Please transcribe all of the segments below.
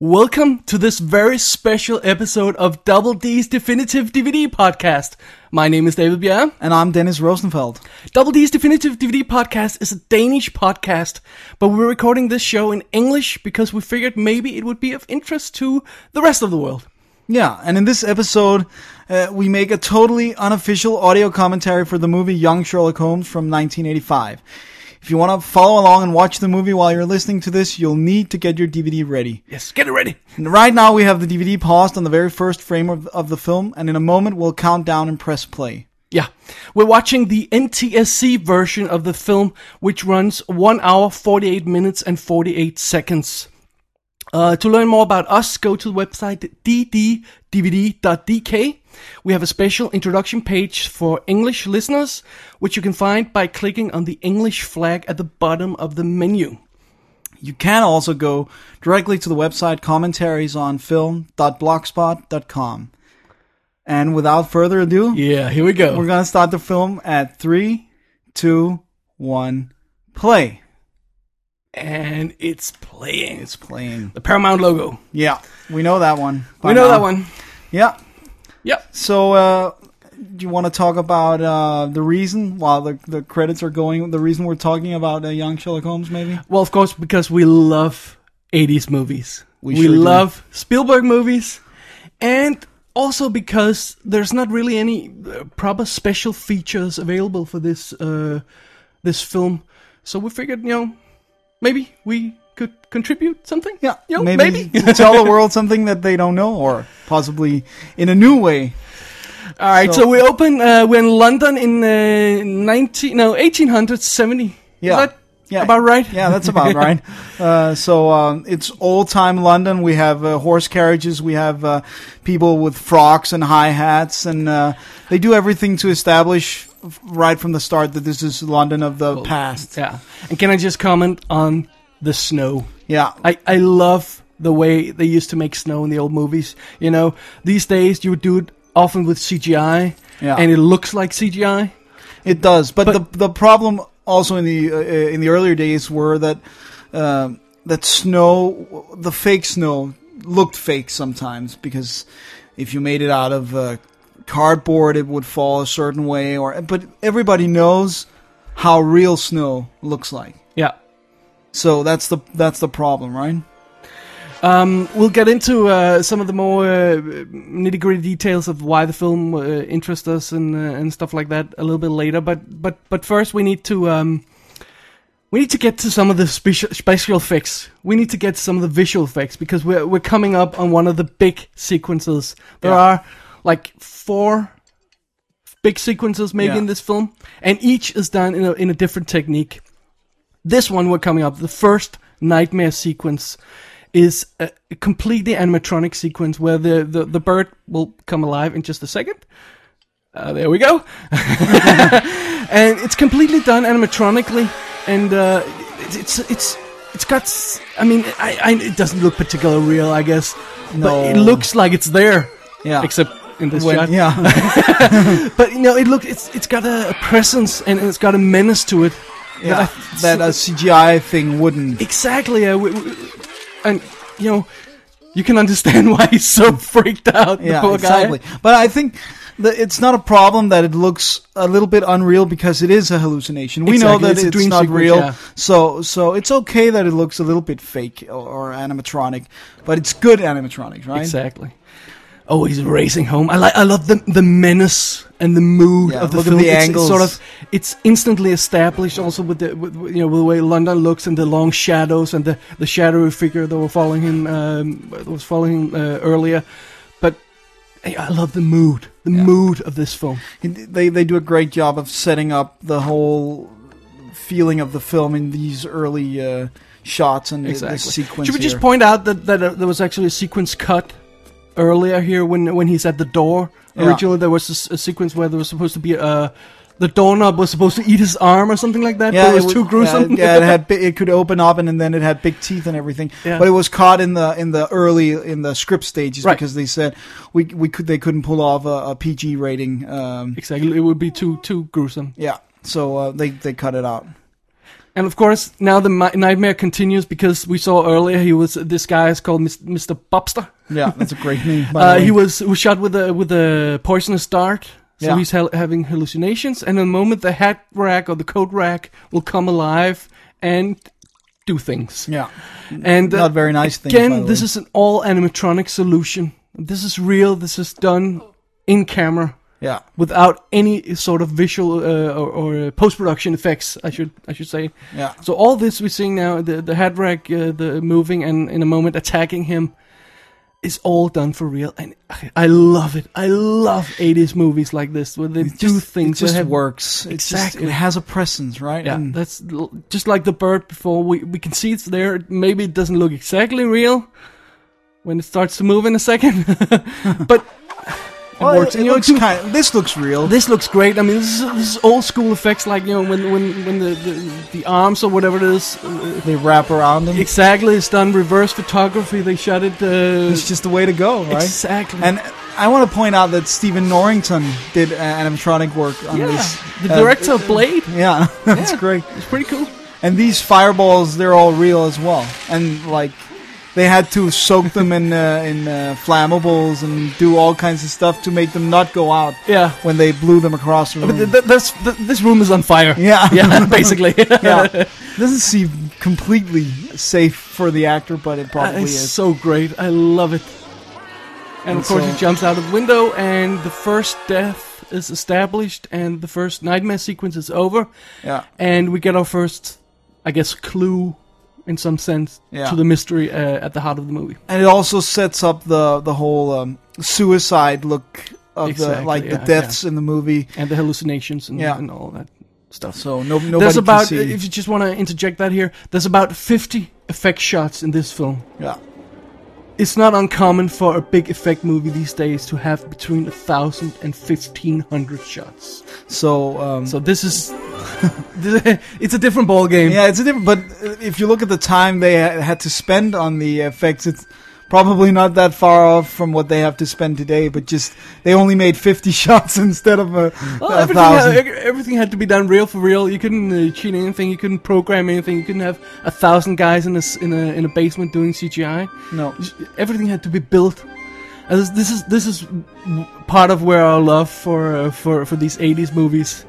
Welcome to this very special episode of Double D's Definitive DVD Podcast. My name is David Bjerre. And I'm Dennis Rosenfeld. Double D's Definitive DVD Podcast is a Danish podcast, but we're recording this show in English because we figured maybe it would be of interest to the rest of the world. Yeah, and in this episode, we make a totally unofficial audio commentary for the movie Young Sherlock Holmes from 1985. If you want to follow along and watch the movie while you're listening to this, you'll need to get your DVD ready. Yes, get it ready. And right now we have the DVD paused on the very first frame of the film, and in a moment we'll count down and press play. Yeah, we're watching the NTSC version of the film, which runs 1 hour, 48 minutes and 48 seconds. To learn more about us, go to the website dddvd.dk. We have a special introduction page for English listeners, which you can find by clicking on the English flag at the bottom of the menu. You can also go directly to the website commentariesonfilm.blogspot.com. And without further ado, yeah, here we go. We're going to start the film at 3, 2, 1, play. And it's playing. It's playing. The Paramount logo. Yeah, we know that one. We know that one. Yeah. Yep. So, do you want to talk about the reason, while the credits are going, the reason we're talking about Young Sherlock Holmes, maybe? Well, of course, because we love 80s movies. We sure love Spielberg movies. And also because there's not really any proper special features available for this film. So we figured, maybe we could contribute something. Yeah, maybe. Tell the world something that they don't know, or possibly in a new way. All right, so we open. We're in London in 1870. Yeah, Is that about right? Yeah, that's about right. So it's old time London. We have horse carriages. We have people with frocks and high hats, and they do everything to establish right from the start that this is London of the past. Yeah, and can I just comment on the snow? Yeah, I love the way they used to make snow in the old movies. These days you would do it often with CGI, and it looks like CGI. It does, but the problem also in the earlier days were that that snow, the fake snow, looked fake sometimes, because if you made it out of cardboard, it would fall a certain way. But everybody knows how real snow looks like. Yeah. So that's the problem, right? We'll get into some of the more nitty-gritty details of why the film interests us and stuff like that a little bit later. But first, we need to get to some of the special effects. We need to get to some of the visual effects, because we're coming up on one of the big sequences. There are like 4 big sequences maybe in this film, and each is done in a different technique. This one we're coming up, the first nightmare sequence, is a completely animatronic sequence where the bird will come alive in just a second. There we go. And it's completely done animatronically, and it's got. I mean, it doesn't look particularly real, I guess. No. But it looks like it's there. Yeah. Except in this shot. Yeah. But it's got a presence, and it's got a menace to it. Yeah. That a CGI thing wouldn't. Exactly. And you can understand why he's so freaked out. The poor exactly. guy. But I think it's not a problem that it looks a little bit unreal, because it is a hallucination. We know that it's not real, so it's okay that it looks a little bit fake or animatronic, but it's good animatronic, right? Exactly. Oh, he's racing home. I love the menace and the mood of the look film. At the angles. It's instantly established also with the way London looks, and the long shadows and the shadowy figure that were following him earlier. But I love the mood of this film. They do a great job of setting up the whole feeling of the film in these early shots and the sequence. Should we just point out that there was actually a sequence cut earlier here when he's at the door? Originally there was a sequence where there was supposed to be the doorknob was supposed to eat his arm or something like that, but it was too gruesome. It could open up, and then it had big teeth and everything. Yeah. But it was caught in the script stages, right, because they said they couldn't pull off a PG rating. Exactly, it would be too gruesome. Yeah, so they cut it out. And of course, now the nightmare continues because we saw earlier this guy is called Mr. Bobster. Yeah, that's a great name. By the way. He was shot with a poisonous dart, so Yeah. he's having hallucinations. And in a moment, the hat rack or the coat rack will come alive and do things. Yeah, And not very nice things. again, by the this way. is an all animatronic solution. This is real. This is done in camera. Yeah, Without any sort of visual or post-production effects, I should say. yeah. So all this we're seeing now, the head rack, the moving, and in a moment attacking him, is all done for real, and I love it. I love 80s movies like this where they do things. It just that have, works. Exactly. It has a presence, right? Yeah, And that's just like the bird before. We can see it's there. Maybe it doesn't look exactly real when it starts to move in a second, but. well, works. it And, you know, looks this looks real. This looks great. I mean, this is old school effects, like, you know, when the arms or whatever it is, They wrap around them. exactly, it's done reverse photography. They shot it. It's just the way to go, right? Exactly. And I want to point out that Stephen Norrington did animatronic work on yeah, this. the director of Blade. Yeah, that's Yeah. great. It's pretty cool. And these fireballs, they're all real as well. And like, they had to soak them in flammables and do all kinds of stuff to make them not go out Yeah. when they blew them across the room. But this room is on fire. Yeah. Yeah, basically. Yeah, doesn't seem completely safe for the actor, but it probably It's is. so great. I love it. And of course, so- he jumps out of the window, and the first death is established, and the first nightmare sequence is over, Yeah, and we get our first, I guess, clue, in some sense, Yeah. to the mystery at the heart of the movie. and it also sets up the whole suicide look of Exactly, the yeah, deaths in the movie. And the hallucinations and, Yeah. and all that stuff. So nobody There's can about, see. if you just want to interject that here, there's about 50 effect shots in this film. Yeah, It's not uncommon for a big effect movie these days to have between 1,000 and 1,500 shots. so So this is, it's a different ball game. yeah, it's a different. But if you look at the time they had to spend on the effects, it's probably not that far off from what they have to spend today. But just they only made 50 shots instead of Well, 1,000. everything had to be done real for real. You couldn't cheat anything. You couldn't program anything. You couldn't have 1,000 guys in a basement doing CGI. No, Everything had to be built. And this is part of where our love for these 80s movies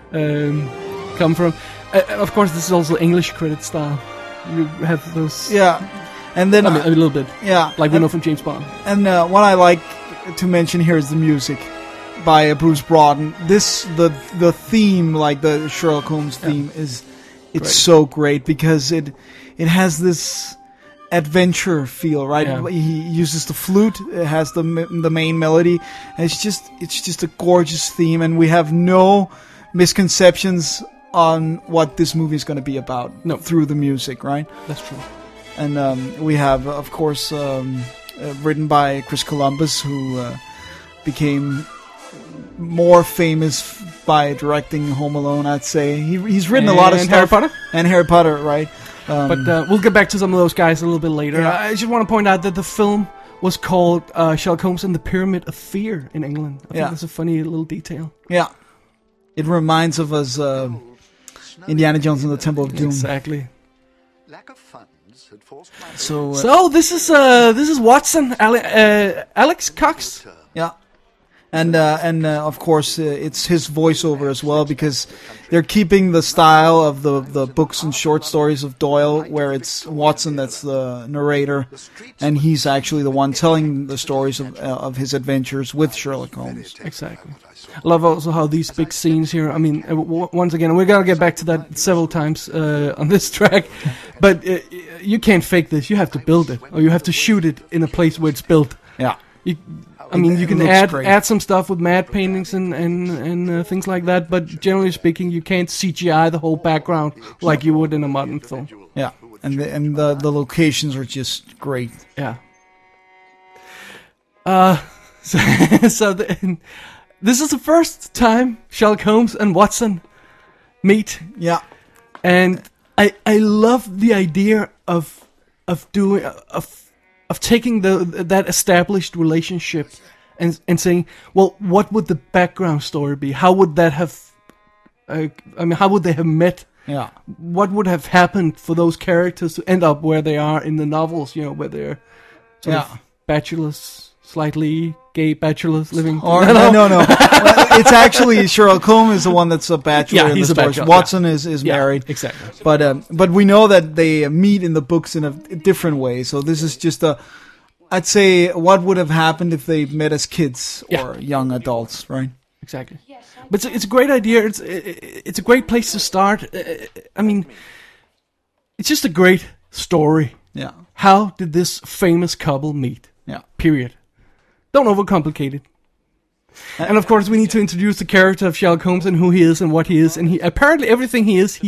come from. Of course, this is also English credit style. You have those. yeah, and then I mean, a little bit yeah, like we know from James Bond. And what I like to mention here is the music by Bruce Broughton. The theme, like the Sherlock Holmes theme, it's Great. so great because it has this adventure feel, right? Yeah. He uses the flute. It has the main melody, and it's just a gorgeous theme, and we have no misconceptions on what this movie is going to be about through the music, right? That's true. And we have, of course, written by Chris Columbus, who became more famous by directing Home Alone, I'd say. He's written a lot of And stuff. Harry Potter? And Harry Potter, right? But we'll get back to some of those guys a little bit later. Yeah. I just want to point out that the film was called Sherlock Holmes and the Pyramid of Fear in England. I think that's a funny little detail. Yeah. It reminds of us Indiana Jones and the Temple of Doom. Exactly. Lack of funds had forced my So, this is Watson, Alex Cox. yeah. And of course, it's his voiceover as well, because they're keeping the style of the books and short stories of Doyle, where it's Watson that's the narrator, and he's actually the one telling the stories of his adventures with Sherlock Holmes. Exactly. I love also how these big scenes here. I mean, once again, we're gonna get back to that several times on this track, but you can't fake this. You have to build it, or you have to shoot it in a place where it's built. Yeah. I mean, you It can looks great. add some stuff with matte paintings and things like that, but generally speaking, you can't CGI the whole background like you would in a modern film. Yeah, and the locations are just great. Yeah. This is the first time Sherlock Holmes and Watson meet, Yeah, and I love the idea of taking that established relationship and saying, well, what would the background story be? How would that have? How would they have met? Yeah. What would have happened for those characters to end up where they are in the novels? You know, where they're sort of bachelors, slightly gay bachelors living. Or no. It's actually Sherlock Holmes is the one that's a bachelor. Yeah, in he's the a stories. bachelor, Watson is married. Exactly. But we know that they meet in the books in a different way. So this is just I'd say what would have happened if they met as kids or young adults, right? Exactly. But it's a great idea. It's a great place to start. I mean, it's just a great story. Yeah. How did this famous couple meet? Yeah. Period. Don't overcomplicate it. And of course, we need to introduce the character of Sherlock Holmes and who he is and what he is. And he apparently everything he is,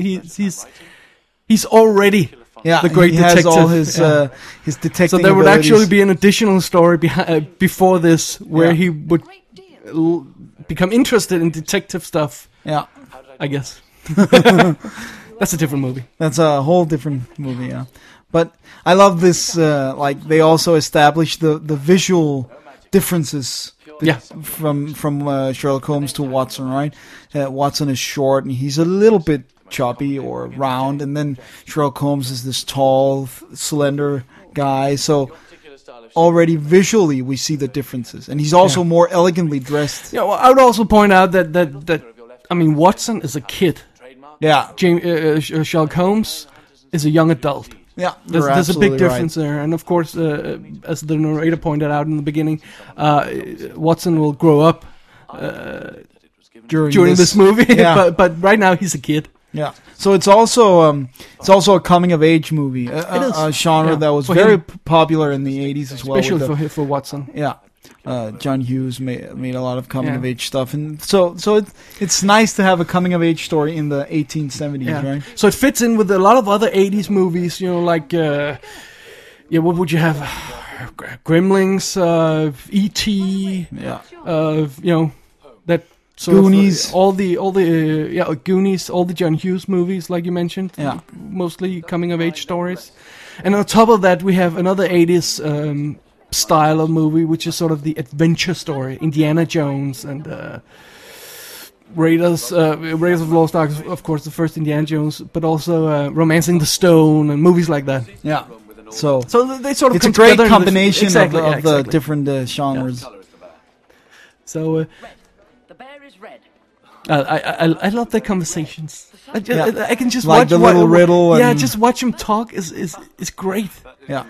he's already the great he detective. has all his detecting. So there would abilities. actually be an additional story before this where he would become interested in detective stuff. Yeah, I guess. That's a different movie. That's a whole different movie. Yeah, but I love this. Like they also established the visual differences. From Sherlock Holmes to Watson, right? Watson is short and he's a little bit chubby or round, and then Sherlock Holmes is this tall, slender guy. So already visually we see the differences, and he's also more elegantly dressed. Yeah, well, I would also point out that I mean Watson is a kid. Yeah, Sherlock Holmes is a young adult. Yeah, there's a big difference there, and of course, as the narrator pointed out in the beginning, Watson will grow up during this movie. but right now he's a kid. Yeah, so it's also a coming of age movie, a genre that was very popular in the 80s as well, especially for Watson. Yeah. John Hughes made a lot of coming of age stuff, and so it's nice to have a coming of age story in the 1870s, right? So it fits in with a lot of other 80s movies, you know, like what would you have? Gremlins, E.T., you know, that sort Goonies, of, all the Goonies, all the John Hughes movies, like you mentioned, mostly coming of age stories, and on top of that we have another 80s. Style of movie, which is sort of the adventure story, Indiana Jones and Raiders of the Lost Ark, of course, the first Indiana Jones, but also Romancing the Stone and movies like that. Yeah. So they sort of it's a great combination of the different genres. Yeah. So the bear is red. I love their conversations. I can just like watch the little riddle. Yeah, just watch them talk is great. Yeah.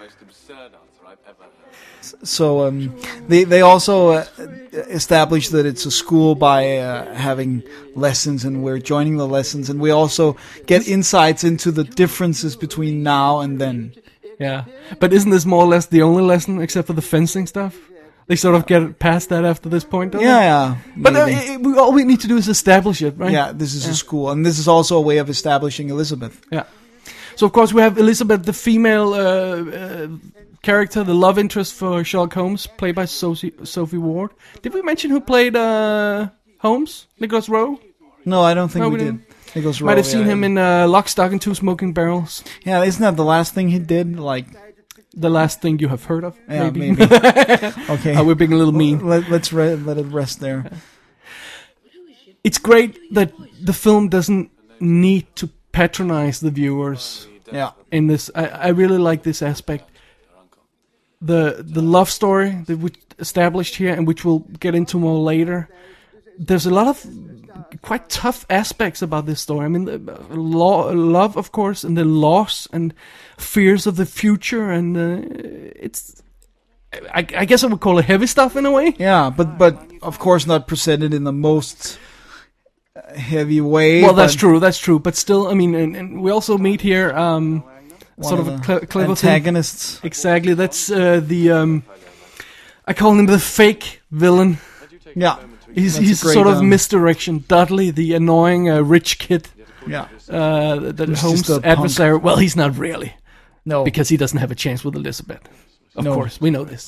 So they also established that it's a school by having lessons, and we're joining the lessons, and we also get insights into the differences between now and then. Yeah, but isn't this more or less the only lesson, except for the fencing stuff? They sort of get past that after this point, don't they? Yeah. But all we need to do is establish it, right? Yeah, this is a school, and this is also a way of establishing Elizabeth. Yeah. So of course we have Elizabeth, the female character, the love interest for Sherlock Holmes, played by Sophie Ward. Did we mention who played Holmes? Nicholas Rowe? No, I don't think we did. Nicholas Rowe. Might have seen him in Lock, Stock, and Two Smoking Barrels. Yeah, isn't that the last thing he did? Like the last thing you have heard of? Yeah, maybe. Okay. We're being a little mean. Let's let it rest there. It's great that the film doesn't need to patronize the viewers. Yeah. In this, I really like this aspect. The love story that we established here, and which we'll get into more later. There's a lot of quite tough aspects about this story. I mean, love, of course, and the loss and fears of the future, and it's. I guess I would call it heavy stuff in a way. Yeah, but of course not presented in the most heavy way. Well, that's true. But still, I mean, and we also meet here sort of a clever antagonists. Thing. Exactly. That's the I call him the fake villain. Yeah. He's sort of misdirection. Dudley, the annoying rich kid. Yeah. That Holmes' adversary. Well, he's not really. No. Because he doesn't have a chance with Elizabeth. Of course, we know this.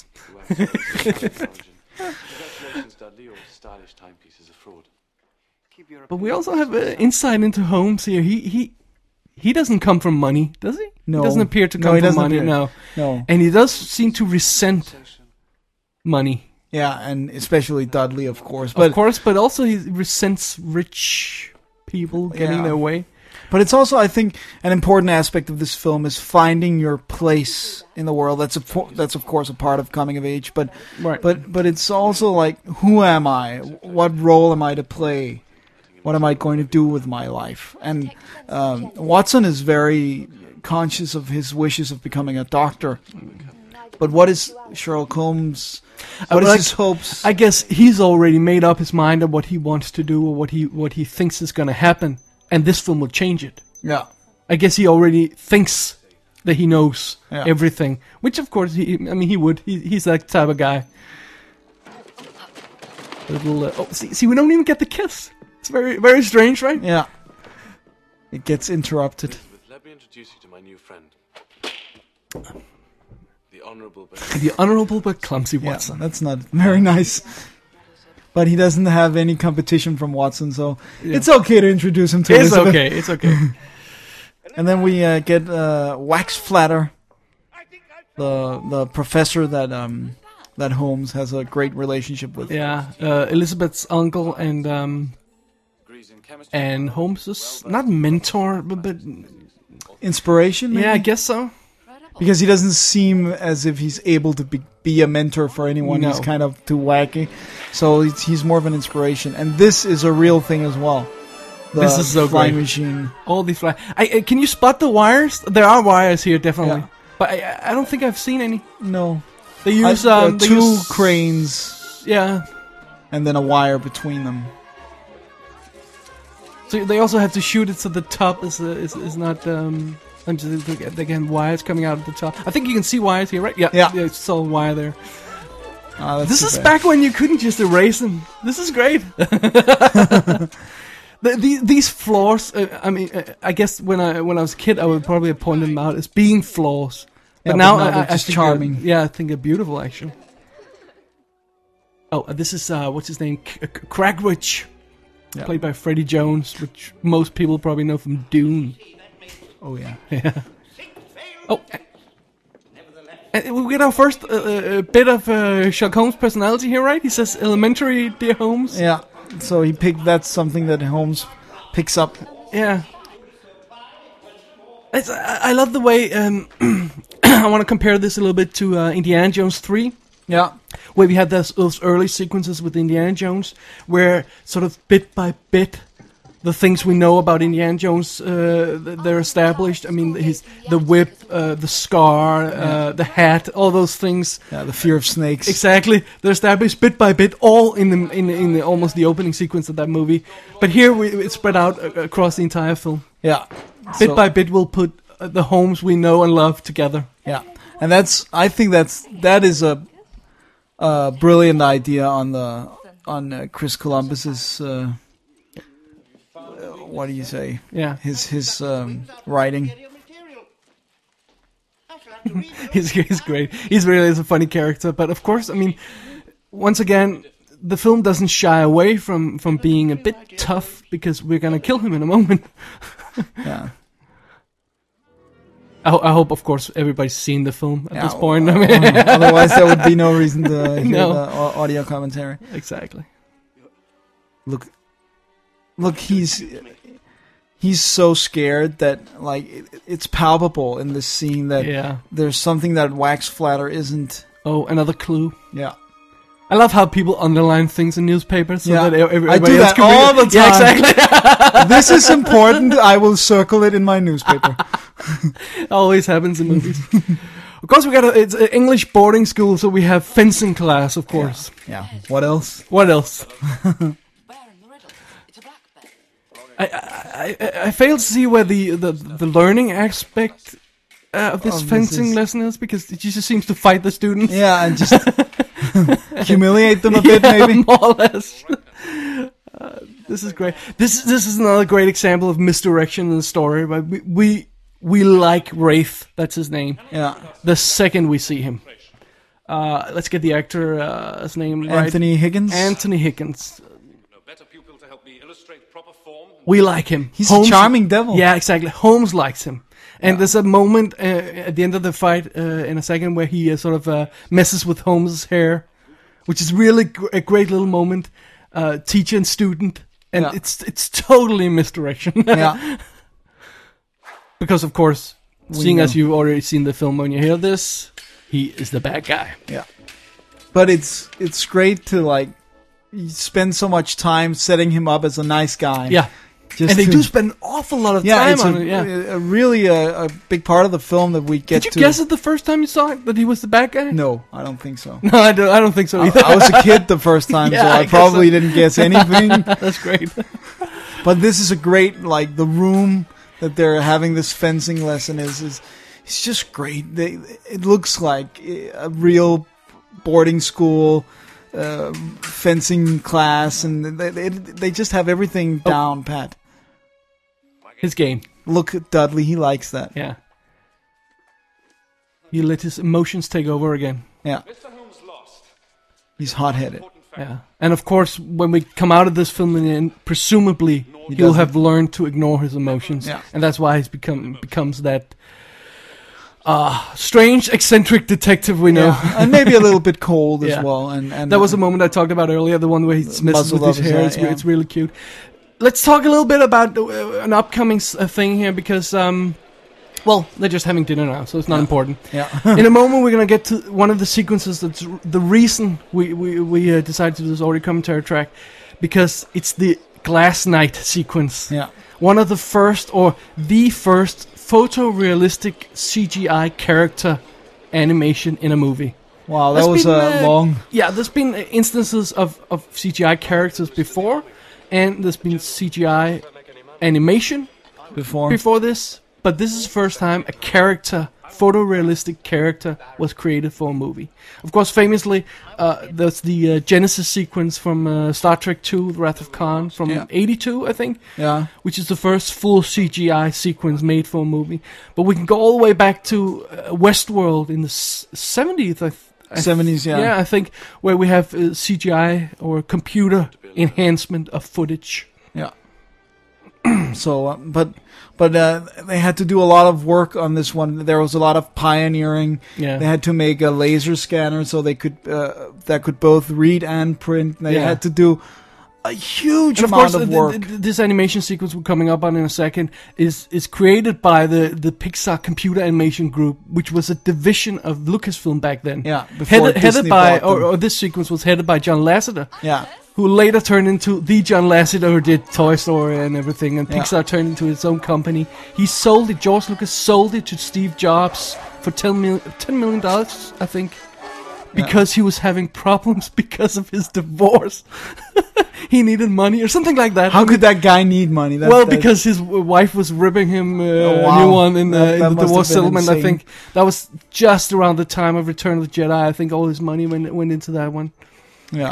But we also have insight into Holmes here. He doesn't come from money, does he? No. He doesn't appear to come from money. No. And he does seem to resent money. Yeah, and especially Dudley, of course. But also he resents rich people getting their way. But it's also, I think, an important aspect of this film is finding your place in the world. That's of course a part of coming of age, but Right. but it's also like, who am I? What role am I to play? What am I going to do with my life? And Watson is very conscious of his wishes of becoming a doctor. But what is Sherlock Holmes? What is his hopes? I guess he's already made up his mind of what he wants to do or what he thinks is going to happen, and this film will change it. Yeah. I guess he already thinks that he knows Yeah. everything, which of course he would. He's that type of guy. See, we don't even get the kiss. It's very, very strange, right? Yeah. It gets interrupted. Let me introduce you to my new friend. The Honourable The honourable but clumsy Yeah, Watson. that's not very nice. But he doesn't have any competition from Watson, so it's okay to introduce him to It's Elizabeth. okay. It's okay. And then we get Wax Flatter, the professor that Holmes has a great relationship with. Yeah, Elizabeth's uncle and Holmes's not mentor, but Inspiration, maybe? yeah, I guess so. Because he doesn't seem as if he's able to be a mentor for anyone. No. He's kind of too wacky. So he's more of an inspiration. And this is a real thing as well. The This is so flying great. machine. All these can you spot the wires? There are wires here, definitely. Yeah. But I don't think I've seen any. No. They use they two use- cranes Yeah. and then a wire between them. So they also have to shoot it so the top is not. They can wires coming out of the top. I think you can see wires here, right? Yeah. Yeah. It's all wire there. That's This too is bad. back when you couldn't just erase them. This is great. These flaws. I guess when I was a kid, I would probably have pointed them out as being flaws. But Yeah, now, but now they're I just think charming. I think they're beautiful, actually. Oh, this is what's his name? Cragwitch, Yeah. played by Freddie Jones, which most people probably know from Dune. Oh, yeah. Oh, we get our first bit of Sherlock Holmes' personality here, right? He says, "Elementary, dear Holmes." Yeah. So that's something that Holmes picks up. Yeah. I love the way. I want to compare this a little bit to Indiana Jones 3. Yeah. Where we had those early sequences with Indiana Jones, where sort of bit by bit, the things we know about Indiana Jones, they're established. I mean, the whip, the scar, the hat, all those things. Yeah, the fear of snakes. Exactly, they're established bit by bit, all in the almost the opening sequence of that movie. But here it's spread out across the entire film. Yeah. Bit by bit, we'll put the Holmes we know and love together. Yeah. And I think that is a brilliant idea on Chris Columbus's what do you say? Yeah, His writing. he's great. He's really is a funny character. But of course, I mean, once again, the film doesn't shy away from being a bit tough because we're gonna kill him in a moment. Yeah. I hope, of course, everybody's seen the film at this point. I mean, Otherwise, there would be no reason to hear No. the audio commentary. exactly. Look, he's so scared that like it's palpable in this scene that Yeah. there's something that Wax Flatter isn't. Oh, another clue. Yeah. I love how people underline things in newspapers so Yeah. that everybody I do else that can read all it. the Yeah, time. exactly. This is important. I will circle it in my newspaper. Always happens in movies. Of course, it's an English boarding school, so we have fencing class, of course. Yeah. What else? What else? Bear in the riddle. It's a black bear. I fail to see where the learning aspect of this Of this fencing is- lesson is, because it just seems to fight the students. Yeah, and just humiliate them a bit, Yeah, maybe. more or less. This is great. This is another great example of misdirection in the story. But we like Wraith. That's his name. Yeah. The second we see him, let's get the actor's name right. Anthony Higgins. Anthony Higgins. No better pupil to help me illustrate proper form. We like him. He's a charming devil. Yeah, exactly. Holmes likes him. And there's a moment at the end of the fight in a second where he sort of messes with Holmes' hair, which is really a great little moment. Teacher and student, and Yeah. it's totally misdirection. Yeah. Because of course, seeing know. as you've already seen the film when you hear this, he is the bad guy. Yeah. But it's great to like spend so much time setting him up as a nice guy. Yeah. Just And they to- do spend an awful lot of time it's on a, it. Yeah. really a big part of the film that we get Did to. you guess it the first time you saw it that he was the bad guy? No, I don't think so. No, I don't think so either. I was a kid the first time, Yeah, so I I guess probably so. didn't guess anything. That's great. But this is a great, like, the room that they're having this fencing lesson is it's just great. It looks like a real boarding school fencing class, and they just have everything down pat. His game. Look at Dudley, he likes that. Yeah. He let his emotions take over again. Yeah, Mr. Holmes lost. he's hot-headed. Yeah. And of course, when we come out of this film, in the end, presumably he'll doesn't. have learned to ignore his emotions. Yeah. And that's why he's becomes that strange, eccentric detective we know. Yeah. And maybe a little bit cold as Yeah. well. And That was a moment I talked about earlier, the one where he messes Muzzled with his up his hair. hair, It's, yeah. it's really cute. Let's talk a little bit about an upcoming thing here, because, well, they're just having dinner now, so it's not important. Yeah. In a moment, we're going to get to one of the sequences that's the reason we decided to do this audio commentary track, because it's the Glass Knight sequence. Yeah. One of the first, or the first, photorealistic CGI character animation in a movie. Wow, that There's was been, long Yeah, there's been instances of CGI characters before, and there's been CGI animation before this, but this is the first time a character, photorealistic character, was created for a movie. Of course, famously, there's the Genesis sequence from Star Trek II, The Wrath of Khan, from Yeah. 82, I think, Yeah. which is the first full CGI sequence made for a movie. But we can go all the way back to Westworld in the 70s, 70s, yeah. Yeah, I think, where we have CGI or computer enhancement of footage. Yeah. So, but they had to do a lot of work on this one. There was a lot of pioneering. Yeah. They had to make a laser scanner so they could that could both read and print. They Yeah. had to do a huge And of amount course, of work. this animation sequence we're coming up on in a second is created by the Pixar Computer Animation Group, which was a division of Lucasfilm back then. Yeah, before headed Disney by, bought them. or this sequence was headed by John Lasseter, Yeah. who later turned into the John Lasseter who did Toy Story and everything, and Yeah. Pixar turned into its own company. He sold it, George Lucas sold it to Steve Jobs for $10 million, I think, because he was having problems because of his divorce. He needed money or something like that. How could that guy need money? Because his wife was ripping him a wow. new one in That the must have divorce been settlement. I insane. think that was just around the time of Return of the Jedi. I think all his money went into that one. Yeah.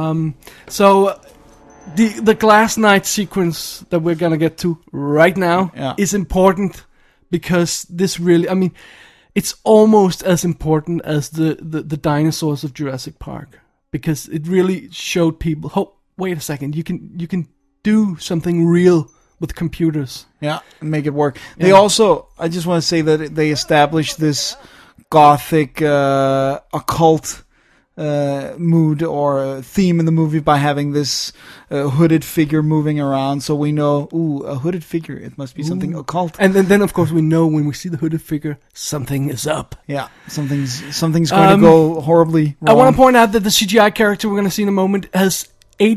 So the Glass Knight sequence that we're gonna get to right now Yeah. is important, because this really, I mean, it's almost as important as the dinosaurs of Jurassic Park, because it really showed people, oh, wait a second, you can do something real with computers. Yeah, and make it work. They Yeah. also, I just want to say that they established this gothic, occult mood or theme in the movie by having this hooded figure moving around. So we know, a hooded figure, it must be something occult. And then of course we know when we see the hooded figure, something is up. Yeah, something's going to go horribly wrong. I want to point out that the CGI character we're going to see in a moment has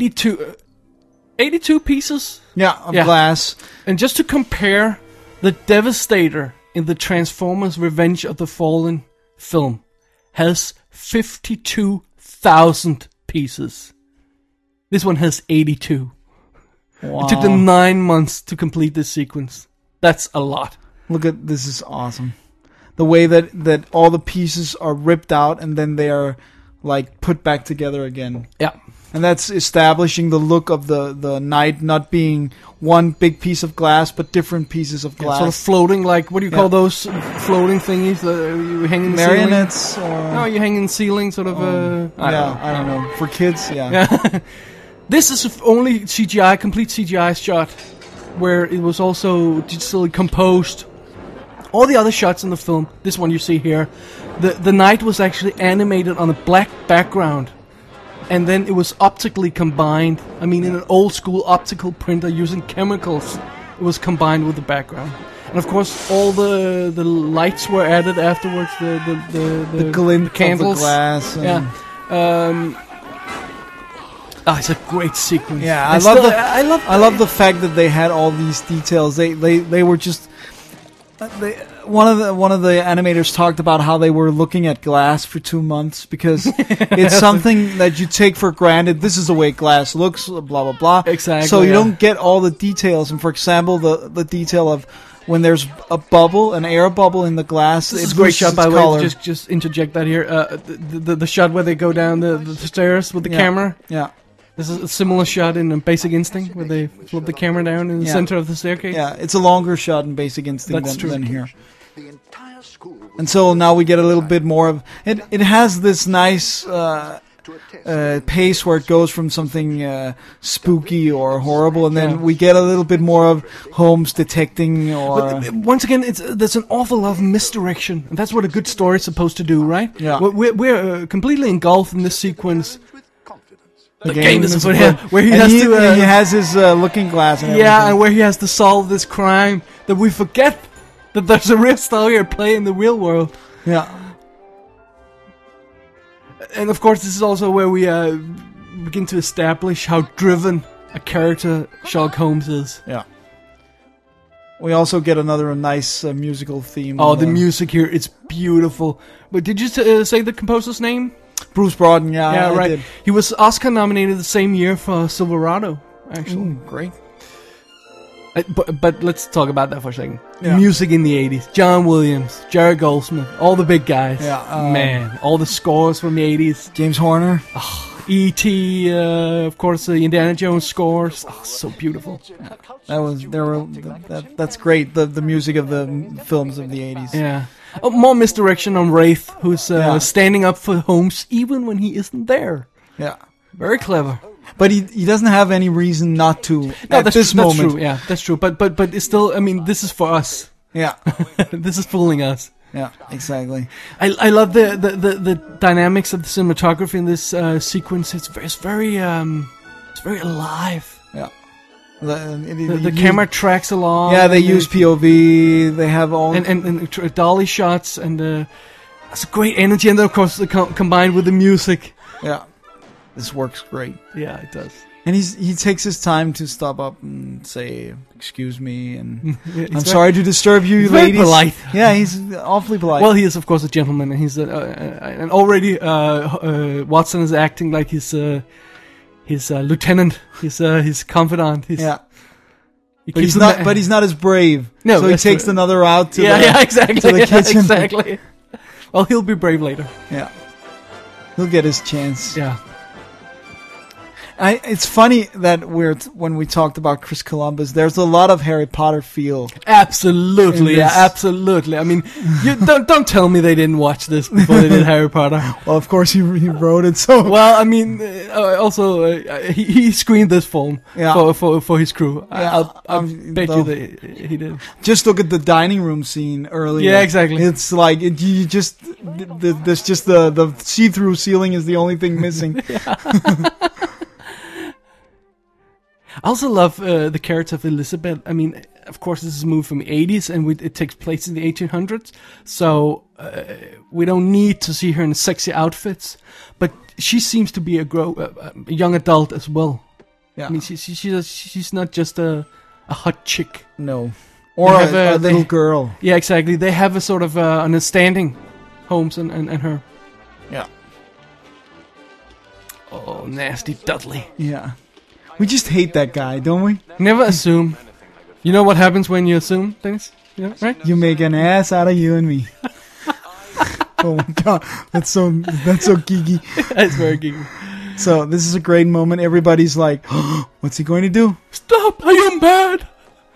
82 pieces. of Yeah. glass. And just to compare, the Devastator in the Transformers Revenge of the Fallen film has 52,000 pieces. This one has 82. Wow. It took them 9 months to complete this sequence. That's a lot. Look at this is awesome. The way that all the pieces are ripped out and then they are like put back together again. Yeah. And that's establishing the look of the knight not being one big piece of glass, but different pieces of glass. Sort of floating, like, what do you call those floating thingies that you hang in the ceiling? Marionettes? Or, No, you hang in the ceiling, sort of, I don't know. For kids, yeah. This is the only CGI, complete CGI shot where it was also digitally composed. All the other shots in the film, this one you see here, the knight was actually animated on a black background, and then it was optically combined. I mean, in an old school optical printer using chemicals, it was combined with the background. And of course, all the lights were added afterwards. The glint candles, of the glass. And yeah. It's a great sequence. Yeah, I love the fact that they had all these details. They were just. One of the animators talked about how they were looking at glass for 2 months because it's something that you take for granted. This is the way glass looks, blah blah blah. Exactly. So you don't get all the details. And for example, the detail of when there's a bubble, an air bubble in the glass. This is a it great loses shot, by its the way. color. Just interject that here. The shot where they go down the stairs with the camera. Yeah. This is a similar shot in Basic Instinct where they flip the camera down in the center of the staircase. Yeah, it's a longer shot in Basic Instinct than here. The entire school was And so now we get a little bit more of it. It has this nice pace where it goes from something spooky or horrible, and then we get a little bit more of Holmes detecting. Or But once again, there's an awful lot of misdirection, and that's what a good story is supposed to do, right? Yeah. We're completely engulfed in this sequence. with confidence. The game is afoot. where he And has he, to. he has his looking glass. And Yeah, everything. and where he has to solve this crime that we forget that there's a real story at play in the real world. Yeah. And of course, this is also where we begin to establish how driven a character Sherlock Holmes is. Yeah. We also get another nice musical theme. Oh, the music here, it's beautiful. But did you say the composer's name? Bruce Broughton, yeah, Yeah, I right. did. He was Oscar nominated the same year for Silverado, actually. Great. But let's talk about that for a second. Yeah. Music in the 80s. John Williams, Jerry Goldsmith, all the big guys. Yeah, Man, all the scores from the 80s. James Horner. E.T., of course, the Indiana Jones scores. Oh, so beautiful. That's great. The music of the films of the 80s. Yeah. Oh, more misdirection on Wraith, who's Yeah. standing up for Holmes even when he isn't there. Yeah. Very clever. But he doesn't have any reason not to at this moment. That's true. Yeah, that's true. But it's still. I mean, this is for us. Yeah. This is fooling us. Yeah, exactly. I love the dynamics of the cinematography in this sequence. It's very alive. Yeah. The camera tracks along. Yeah, they and use POV. They have all and dolly shots, and it's a great energy. And then of course combined with the music. Yeah. This works great. Yeah, it does. And he takes his time to stop up and say, "Excuse me," and Yeah, I'm sorry to disturb you, he's very ladies. polite. Yeah, he's awfully polite. Well, he is of course a gentleman, and he's and already Watson is acting like his lieutenant, his confidant. yeah, he but keeps he's not as brave. No, so he that's takes true. another out to exactly, to the kitchen. exactly. Well, he'll be brave later. Yeah, he'll get his chance. Yeah. It's funny that when we talked about Chris Columbus, there's a lot of Harry Potter feel. Absolutely, In yeah, this. absolutely. I mean, you don't tell me they didn't watch this before they did Harry Potter. Well, of course he wrote it, so Well, I mean, also he screened this film Yeah. for his crew. Yeah, I'll bet though- you that he did. just look at the dining room scene earlier. Yeah, exactly. It's like there's just the see-through ceiling is the only thing missing. I also love the character of Elizabeth. I mean, of course, this is a movie from the 80s, and it takes place in the 1800s, so we don't need to see her in sexy outfits, but she seems to be a young adult as well. Yeah. I mean, she's not just a hot chick. No. Or They have a little girl. Yeah, exactly. They have a sort of understanding, Holmes and her. Yeah. Oh, nasty Dudley. Yeah. We just hate that guy, don't we? Never assume. You know what happens when you assume things? Yeah, right? You make an ass out of you and me. Oh my god, that's so geeky. It's very geeky. So this is a great moment. Everybody's like, oh, "What's he going to do?" Stop! I am bad!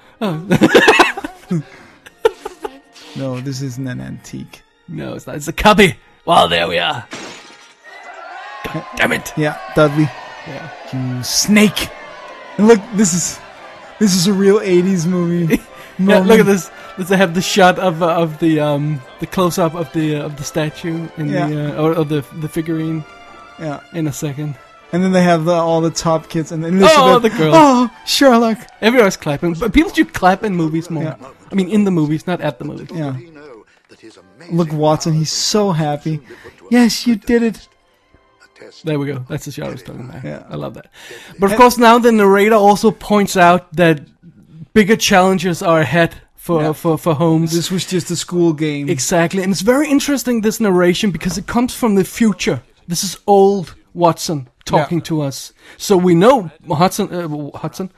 No, this isn't an antique. No, it's not. It's a cubby. Well, there we are. God damn it. Yeah, Dudley, Yeah. you snake. And look, this is a real '80s movie. Yeah, look at this. They have the shot of the close up of the statue in Yeah. the or of the figurine Yeah, in a second. And then they have all the top kids and Elizabeth. Oh, the girl. Oh, Sherlock. Everyone's clapping. But people should clap in movies more. Yeah. I mean, in the movies, not at the movies. Yeah. Look, Watson, he's so happy. Yes, you did it. There we go. That's the shot I was talking about. Yeah. I love that. But of course, now the narrator also points out that bigger challenges are ahead for Holmes. This was just a school game. Exactly. And it's very interesting, this narration, because it comes from the future. This is old Watson talking to us. So we know Watson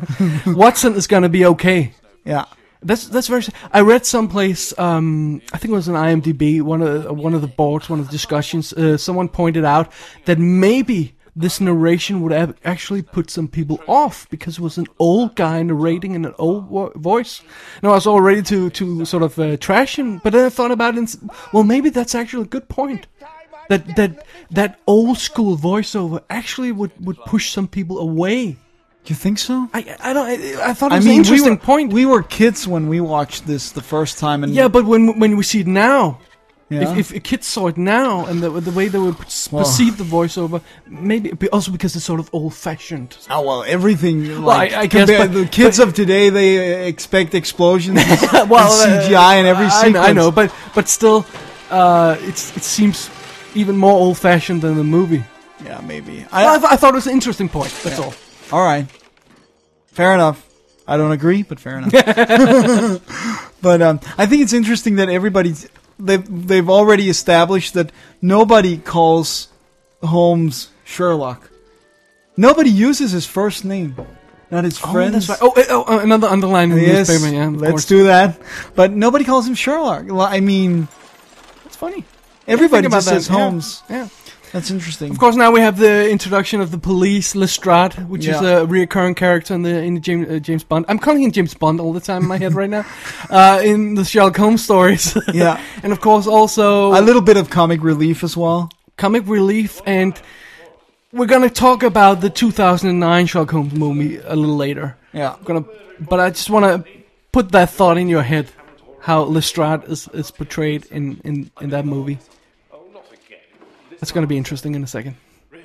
is going to be okay. Yeah. That's very. I read someplace. I think it was on IMDb. One of the boards, one of the discussions. Someone pointed out that maybe this narration would have actually put some people off because it was an old guy narrating in an old voice. Now I was all ready to sort of trash him, but then I thought about it. And, well, maybe that's actually a good point. That old school voiceover actually would push some people away. You think so? I thought it was an interesting point. We were kids when we watched this the first time, and yeah, but when we see it now, yeah. if kids saw it now and the way they would perceive the voiceover, maybe also because it's sort of old-fashioned. Oh well, everything. Well, I guess the kids of today, they expect explosions and CGI in every sequence. I know, but still, it seems even more old-fashioned than the movie. Yeah, maybe. I thought it was an interesting point. That's all. All right, fair enough. I don't agree, but fair enough. But I think it's interesting that they've already established that nobody calls Holmes Sherlock. Nobody uses his first name, not his friends. That's right. Another underline in the newspaper. Yeah, let's do that. But nobody calls him Sherlock. I mean, that's funny. Everybody just says Holmes. Yeah. That's interesting. Of course, now we have the introduction of the police, Lestrade, which is a reoccurring character in the James Bond. I'm calling him James Bond all the time in my head right now. In the Sherlock Holmes stories. Yeah. And of course also a little bit of comic relief as well. Comic relief, and we're gonna talk about the 2009 Sherlock Holmes movie a little later. Yeah. But I just want to put that thought in your head, how Lestrade is portrayed in that movie. That's going to be interesting in a second.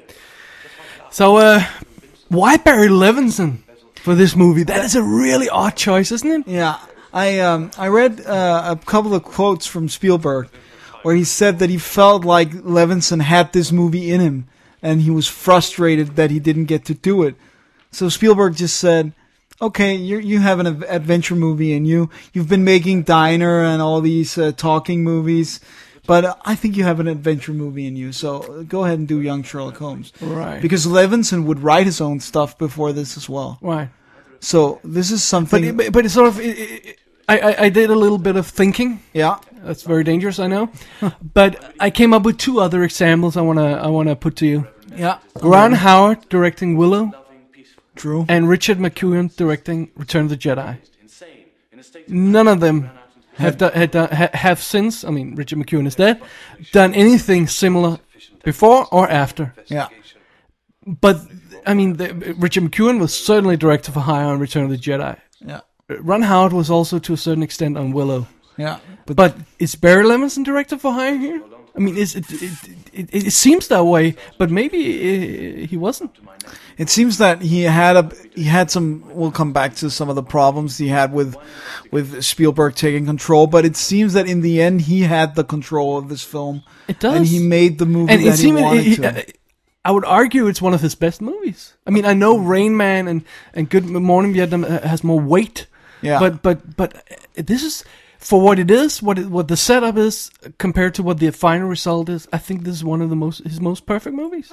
So, why Barry Levinson for this movie? That is a really odd choice, isn't it? Yeah. I read a couple of quotes from Spielberg where he said that he felt like Levinson had this movie in him and he was frustrated that he didn't get to do it. So Spielberg just said, okay, you have an adventure movie and you've been making Diner and all these talking movies, but I think you have an adventure movie in you, so go ahead and do Young Sherlock Holmes. Right. Because Levinson would write his own stuff before this as well. Right. So this is something... But it's sort of... I did a little bit of thinking. Yeah. That's very dangerous, I know. But I came up with two other examples I wanna put to you. Yeah. Ron Howard directing Willow. True. And Richard McEwan directing Return of the Jedi. None of them have since, I mean, Richard McEwan is dead, done anything similar before or after. Yeah. But, I mean, Richard McEwan was certainly director for hire on Return of the Jedi. Yeah. Ron Howard was also to a certain extent on Willow. Yeah. But is Barry Levinson director for hire here? I mean, it seems that way, but maybe he wasn't. It seems that he had some. We'll come back to some of the problems he had with Spielberg taking control, but it seems that in the end he had the control of this film. It does, and he made the movie and that he wanted to. I would argue it's one of his best movies. I mean, I know Rain Man and Good Morning Vietnam has more weight. Yeah, but this is. For what it is, what the setup is, compared to what the final result is, I think this is one of his most perfect movies.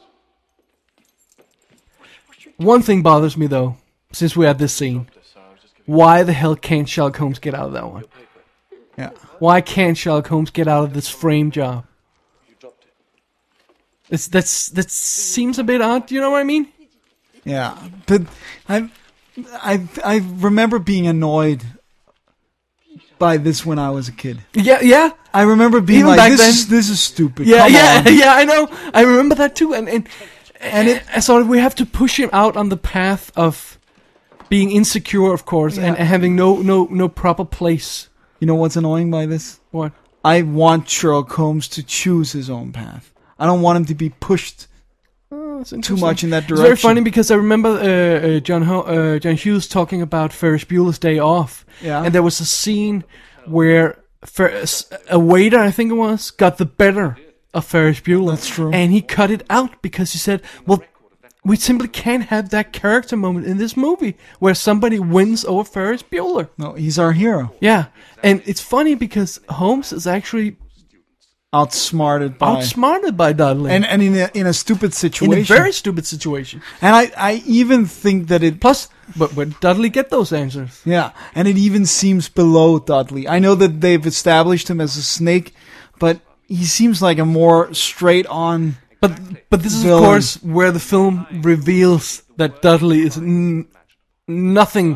One thing bothers me though, since we're at this scene. Why the hell can't Sherlock Holmes get out of that one? Yeah. Why can't Sherlock Holmes get out of this frame job? That seems a bit odd, you know what I mean? Yeah. But I remember being annoyed by this when I was a kid. Yeah. I remember being even like, this is stupid. Yeah, I know. I remember that too. And so we have to push him out on the path of being insecure, of course, and having no proper place. You know what's annoying by this? What? I want Sherlock Holmes to choose his own path. I don't want him to be pushed that's too interesting. much in that It's direction. very funny because I remember John Hughes talking about Ferris Bueller's Day Off. Yeah. And there was a scene where a waiter, I think it was, got the better of Ferris Bueller. That's true. And he cut it out because he said, well, we simply can't have that character moment in this movie where somebody wins over Ferris Bueller. No, he's our hero. Yeah. And it's funny because Holmes is actually Outsmarted by Dudley. and in a stupid situation. in a very stupid situation. And I even think that it Plus, but where did Dudley get those answers? yeah, and it even seems below Dudley. I know that they've established him as a snake, but he seems like a more straight on. But this is, villain. of course, where the film reveals that Dudley is nothing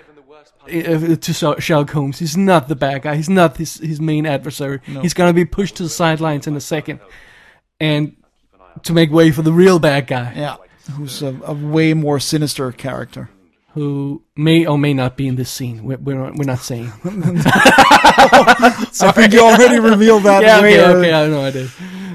to Sherlock Holmes. He's not the bad guy. He's not his main adversary. No. He's going to be pushed to the sidelines in a second, and to make way for the real bad guy, Yeah, who's a way more sinister character. who may or may not be in this scene. We're not saying. I think you already revealed that. Yeah, way okay, early. I know I did.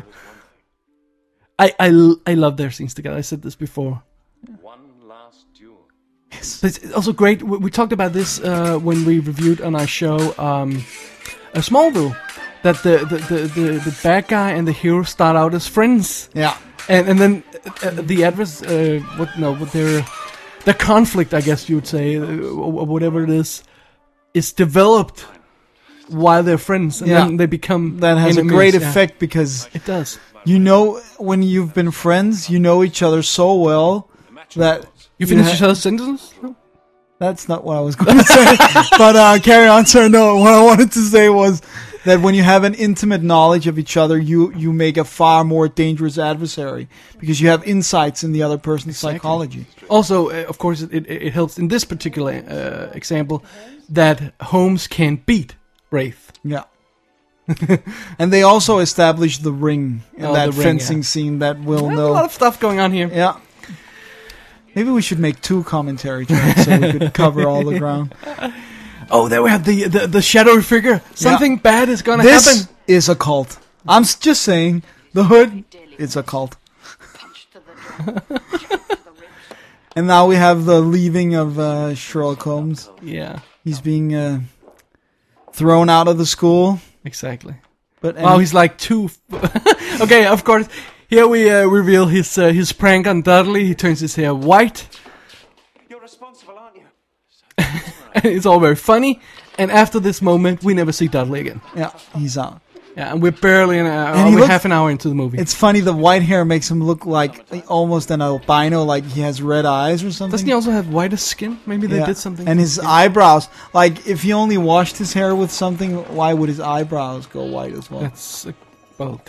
I love their scenes together. I said this before. One last duel. But it's also great. We talked about this when we reviewed on our show a Smallville, that the bad guy and the hero start out as friends, Yeah, and then the adverse their conflict, I guess you would say, or whatever it is developed while they're friends, and Yeah. then they become that has enemies. a great Yeah. effect because It does. you know when you've been friends, you know each other so well that You finish ha- each other's sentences? No? That's not what I was going to say. But carry on, sir. No, what I wanted to say was that when you have an intimate knowledge of each other, you make a far more dangerous adversary because you have insights in the other person's psychology. Also, of course, it helps in this particular example that Holmes can beat Wraith. Yeah. And they also established the ring in Oh, that the ring, fencing yeah. scene that we'll There's know. a lot of stuff going on here. Yeah. Maybe we should make 2 commentary tracks so we could cover all the ground. Oh, there we have the shadowy figure. Something bad is gonna This happen. is a cult. I'm just saying, the hood is a cult. Punch to the jaw, shot to the ribs. And now we have the leaving of Sherlock Holmes. Yeah, He's being thrown out of the school. exactly. But Wow, he's like too. Okay, of course. Here we reveal his prank on Dudley. He turns his hair white. You're responsible, aren't you? And it's all very funny. And after this moment, we never see Dudley again. yeah, he's out. Yeah, and we're barely he looks- half an hour into the movie. It's funny, the white hair makes him look like almost an albino, like he has red eyes or something. Doesn't he also have whiter skin? Maybe they Yeah. did something. And his eyebrows, like if he only washed his hair with something, why would his eyebrows go white as well? That's well.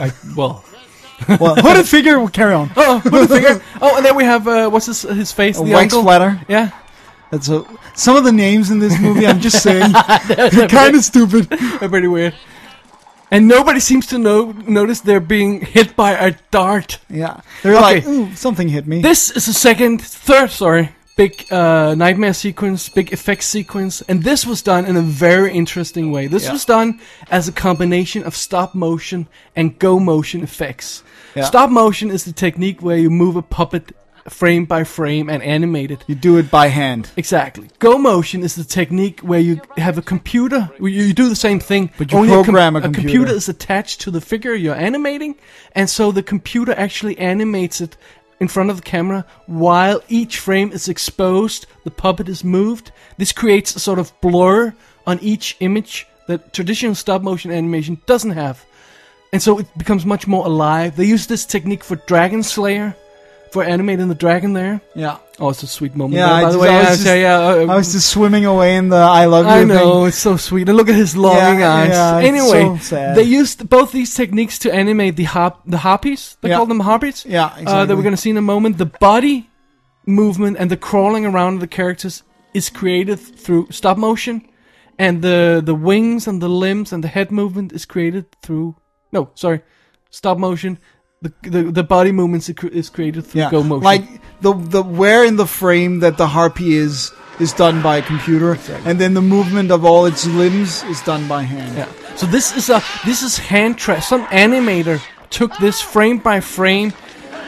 Well, hooded figure, carry on. Oh, what the figure? Oh, and then we have what's his face? A the wax uncle. flatter. Yeah, That's some of the names in this movie. I'm just saying, they're kind of stupid. they're pretty weird. And nobody seems to notice they're being hit by a dart. Yeah, they're Okay. like, ooh, something hit me. This is the third, big nightmare sequence, big effects sequence, and this was done in a very interesting way. This Yeah. was done as a combination of stop motion and go motion effects. Yeah. Stop motion is the technique where you move a puppet frame by frame and animate it. You do it by hand. Exactly. Go motion is the technique where you have a computer. You do the same thing, But you only program a a computer. computer is attached to the figure you're animating, and so the computer actually animates it in front of the camera while each frame is exposed. The puppet is moved. This creates a sort of blur on each image that traditional stop motion animation doesn't have, and so it becomes much more alive. They use this technique for Dragon Slayer, for animating the dragon there. Yeah. Oh, it's a sweet moment. Yeah, there, by I the just- way, I was I just- say, I was just swimming away in the I love you I know, thing. it's so sweet. And look at his longing Yeah, eyes. yeah, it's Anyway, so sad. they used both these techniques to animate the harpies. They Yeah. call them harpies. Yeah, exactly. That we're going to see in a moment. The body movement and the crawling around of the characters is created through stop motion, and the wings and the limbs and the head movement is created through stop motion. The body movements is created through go motion. Like the where in the frame that the harpy is done by a computer, and then the movement of all its limbs is done by hand. Yeah. So this is hand track. Some animator took this frame by frame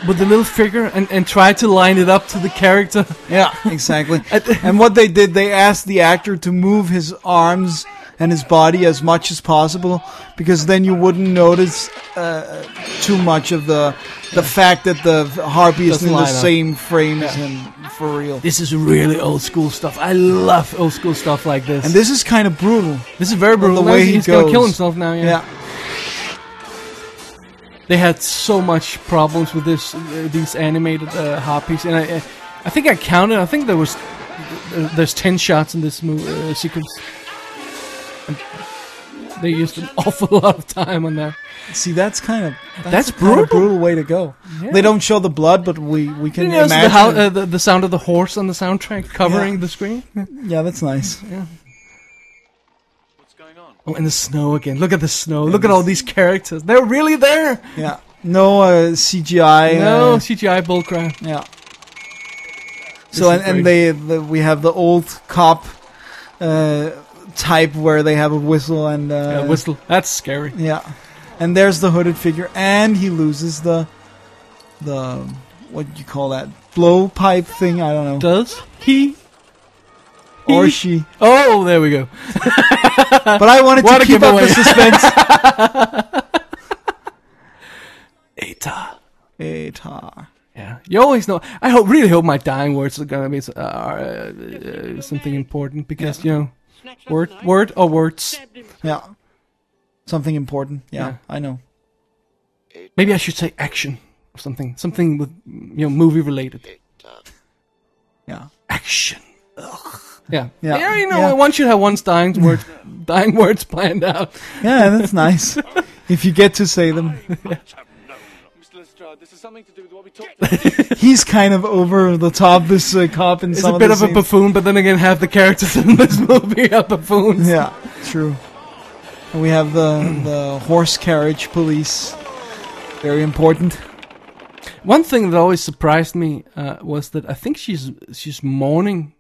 with the little figure and try to line it up to the character. Yeah, exactly. And what they did, they asked the actor to move his arms and his body as much as possible, because then you wouldn't notice too much of the fact that the harpy isn't in the same frame as him for real. This is really old school stuff. I love old school stuff like this. And this is kind of brutal. This is very brutal. The way he's goes. gonna kill himself now. Yeah. They had so much problems with these animated harpies, and I think I counted. I think there's 10 shots in this sequence. And they used an awful lot of time on that. See, that's a kind brutal. of brutal way to go. Yeah. They don't show the blood, but we can imagine the sound of the horse on the soundtrack covering the screen. Yeah, that's nice. Yeah. What's going on? Oh, and the snow again. Look at the snow. Look at all these characters. They're really there. Yeah. No CGI. No CGI bullcrap. Yeah. So and we have the old cop type where they have a whistle and whistle. That's scary. Yeah. And there's the hooded figure, and he loses the what do you call that, blowpipe thing? I don't know. Does he? Or she? Oh, there we go. But I wanted to keep up the suspense. Atar. Yeah, you always know. I really hope my dying words are gonna be something important, because you know, word or words. Yeah. Something important. Yeah, I know. Maybe I should say action or something with, you know, movie related. Yeah. Action. Ugh. Yeah. You know, yeah. One should have one's dying words planned out. Yeah, that's nice. If you get to say them. Mr. Lestrade, this is something to do with what we talked about. He's kind of over the top, this cop in some of the He's a bit of a buffoon, but then again, half the characters in this movie are buffoons. Yeah, true. And we have the horse carriage police. Very important. One thing that always surprised me was that I think she's mourning.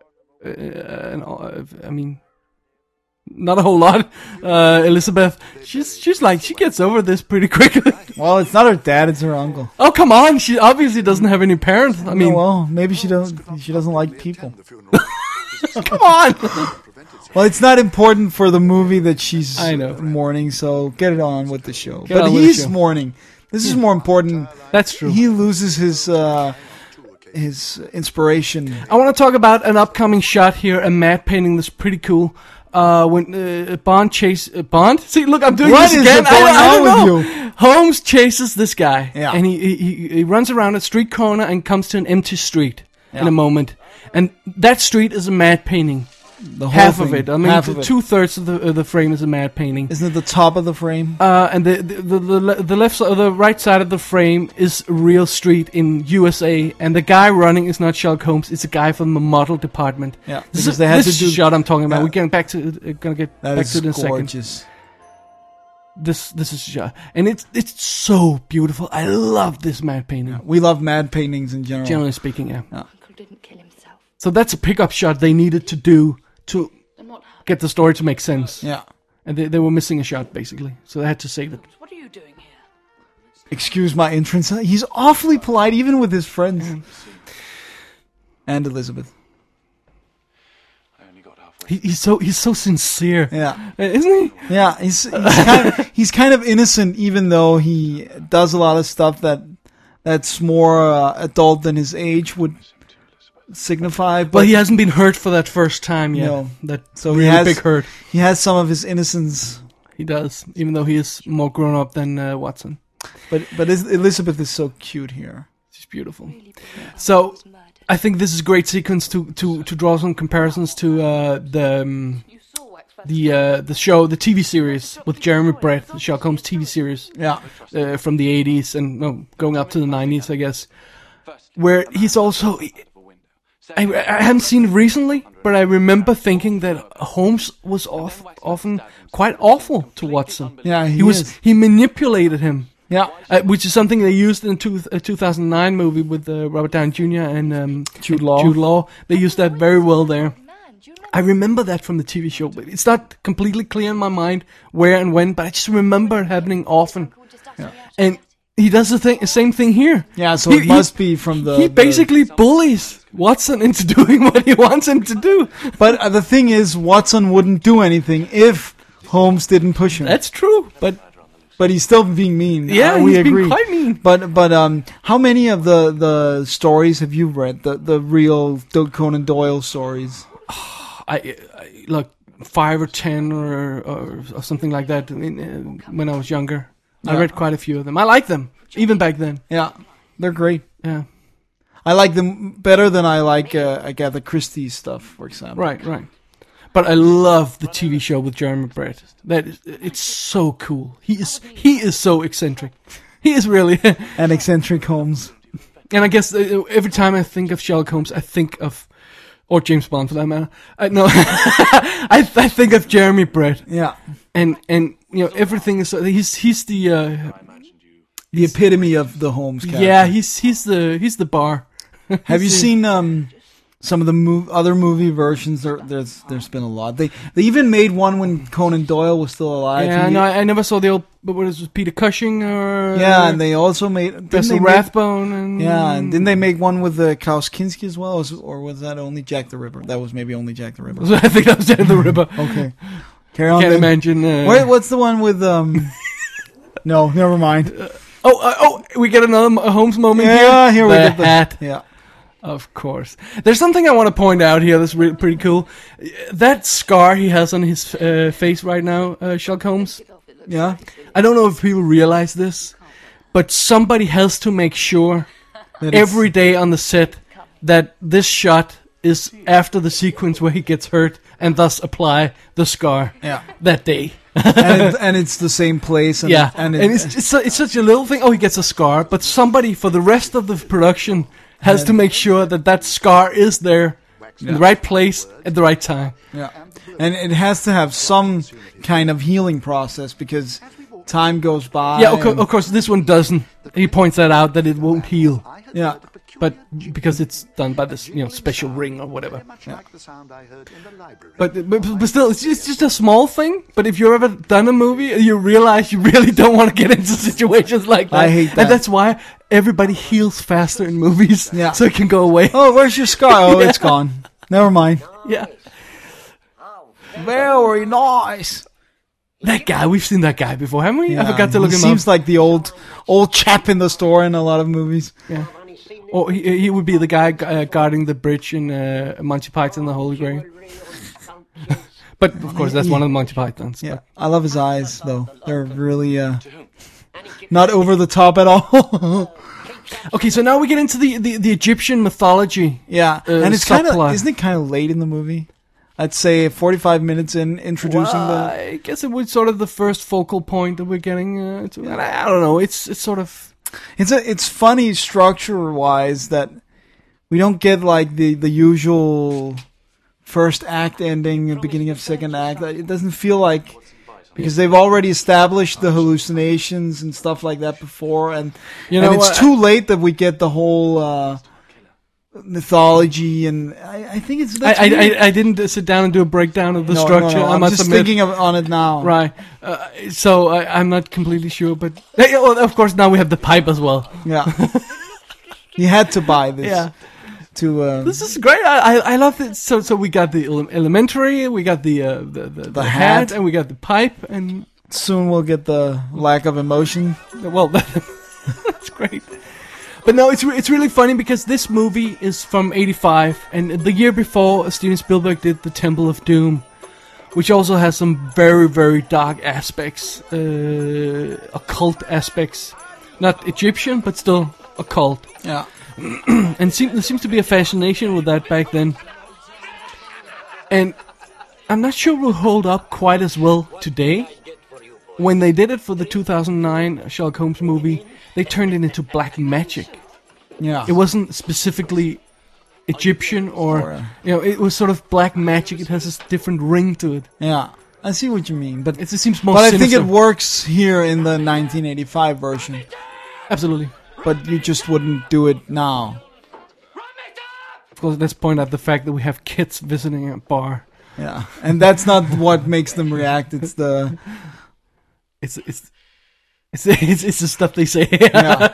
I mean, not a whole lot. Elizabeth, she's like, she gets over this pretty quickly. Well, it's not her dad; it's her uncle. Oh, come on! She obviously doesn't have any parents. I mean, well, maybe she doesn't like people. Come on! Well, it's not important for the movie that she's mourning, so get it on with the show. But he's mourning. This is more important. That's true. He loses his inspiration. I want to talk about an upcoming shot here, a matte painting that's pretty cool. When Bond? See, look, I'm doing this again. I don't know. With you? Holmes chases this guy, and he runs around a street corner and comes to an empty street in a moment. And that street is a matte painting. Half of it. I mean, 2/3 of the frame is a matte painting. Isn't it the top of the frame? And the left side, the right side of the frame is a real street in USA, and the guy running is not Sherlock Holmes. It's a guy from the model department. Yeah, this is shot I'm talking about. We're getting back to gonna get that back to it in a gorgeous. second. This is shot, and it's so beautiful. I love this matte painting. Yeah, we love matte paintings in general. Generally speaking, yeah. Uncle didn't kill himself. So that's a pickup shot they needed to do to get the story to make sense. Yeah. And they were missing a shot, basically. So they had to save it. What are you doing here? Excuse my entrance. He's awfully polite, even with his friends. And Elizabeth. I only got halfway. He's so sincere. Yeah. Isn't he? Yeah, he's kind of innocent, even though he does a lot of stuff that's more adult than his age would signify. But he hasn't been hurt for that first time yet. No. So really big hurt. He has some of his innocence. He does, even though he is more grown up than Watson. But Elizabeth is so cute here. She's beautiful. So I think this is a great sequence to draw some comparisons to the show, the TV series with Jeremy Brett, the Sherlock Holmes TV series. Yeah. From the 80s and going up to the 90s, I guess. Where he's also... I haven't seen it recently, but I remember thinking that Holmes was often quite awful to Watson. Yeah, he manipulated him. Yeah, which is something they used in a 2009 movie with Robert Downey Jr. and Jude Law. They used that very well there. I remember that from the TV show, but it's not completely clear in my mind where and when, but I just remember it happening often. Yeah. And he does the same thing here. Yeah, so it must be from the... He basically bullies Watson into doing what he wants him to do. But the thing is, Watson wouldn't do anything if Holmes didn't push him. That's true, but he's still being mean. Yeah, we he's agree. being quite mean. But how many of the stories have you read? The real Conan Doyle stories? I like 5 or 10 or something like that when I was younger. I read quite a few of them. I like them, even back then. Yeah, they're great. Yeah. I like them better than I like Agatha Christie's stuff, for example. Right. But I love the TV show with Jeremy Brett. It's so cool. He is so eccentric. He is really An eccentric Holmes. And I guess every time I think of Sherlock Holmes, I think of, or James Bond for that matter. No, I think of Jeremy Brett. Yeah. And everything is he's the epitome of the Holmes character. Yeah, he's the bar. Have you seen some of the other movie versions? There's been a lot. They even made one when Conan Doyle was still alive. Yeah, no, I never saw the old. But what is it, Peter Cushing or? Yeah, and they also made Basil Rathbone and. Yeah, and didn't they make one with Klaus Kinski as well, or was that only Jack the Ripper? That was maybe only Jack the Ripper. I think that was Jack the Ripper. Okay, carry on. Can't imagine. Wait, what's the one with No, never mind. We get another Holmes moment here. Yeah, here we the get the hat. Yeah. Of course. There's something I want to point out here that's really pretty cool. That scar he has on his face right now, Sherlock Holmes. Yeah. I don't know if people realize this, but somebody has to make sure every day on the set that this shot is after the sequence where he gets hurt and thus apply the scar that day. and it's the same place. And, and it's such a little thing. Oh, he gets a scar, but somebody for the rest of the production has to make sure that scar is there in the right place at the right time. Yeah, and it has to have some kind of healing process because time goes by. Yeah, of course, this one doesn't. He points that out that it won't heal. Yeah. But because it's done by this, special ring or whatever. Yeah. But still, it's just a small thing. But if you've ever done a movie, you realize you really don't want to get into situations like that. I hate that. And that's why everybody heals faster in movies. Yeah. So it can go away. Oh, where's your scar? Oh, it's gone. Never mind. Yeah. Very nice. That guy, we've seen that guy before, haven't we? Yeah, I forgot to look him up. He seems like the old chap in the store in a lot of movies. Yeah. Or he would be the guy guarding the bridge in Monty Python and the Holy Grail. But, of course, that's one of the Monty Pythons. Yeah, I love his eyes, though. They're really not over the top at all. Okay, so now we get into the Egyptian mythology. Yeah, and it's subplot. isn't it kind of late in the movie? I'd say 45 minutes in introducing I guess it was sort of the first focal point that we're getting to. And I don't know, it's sort of... It's funny structure-wise that we don't get like the usual first act ending, beginning of second act. It doesn't feel like, because they've already established the hallucinations and stuff like that before, and it's too late that we get the whole mythology, and I think it's... I didn't sit down and do a breakdown of the structure. No. I I'm must just admit. thinking on it now. Right. So I'm not completely sure, but of course now we have the pipe as well. Yeah. You had to buy this. Yeah. This is great. I love it. So we got the elementary, we got the hat, and we got the pipe, and soon we'll get the lack of emotion. Well, that's great. But no, it's really funny because this movie is from '85, and the year before Steven Spielberg did The Temple of Doom, which also has some very, very dark aspects, occult aspects. Not Egyptian, but still occult. Yeah. And there seems to be a fascination with that back then. And I'm not sure it will hold up quite as well today. When they did it for the 2009 Sherlock Holmes movie, they turned it into black magic. Yeah. It wasn't specifically Egyptian or it was sort of black magic. It has this different ring to it. Yeah. I see what you mean, but it seems more sinister. But I think it works here in the 1985 version. Absolutely. But you just wouldn't do it now. Of course, let's point out the fact that we have kids visiting a bar. Yeah, and that's not what makes them react. It's the... It's the stuff they say. Yeah.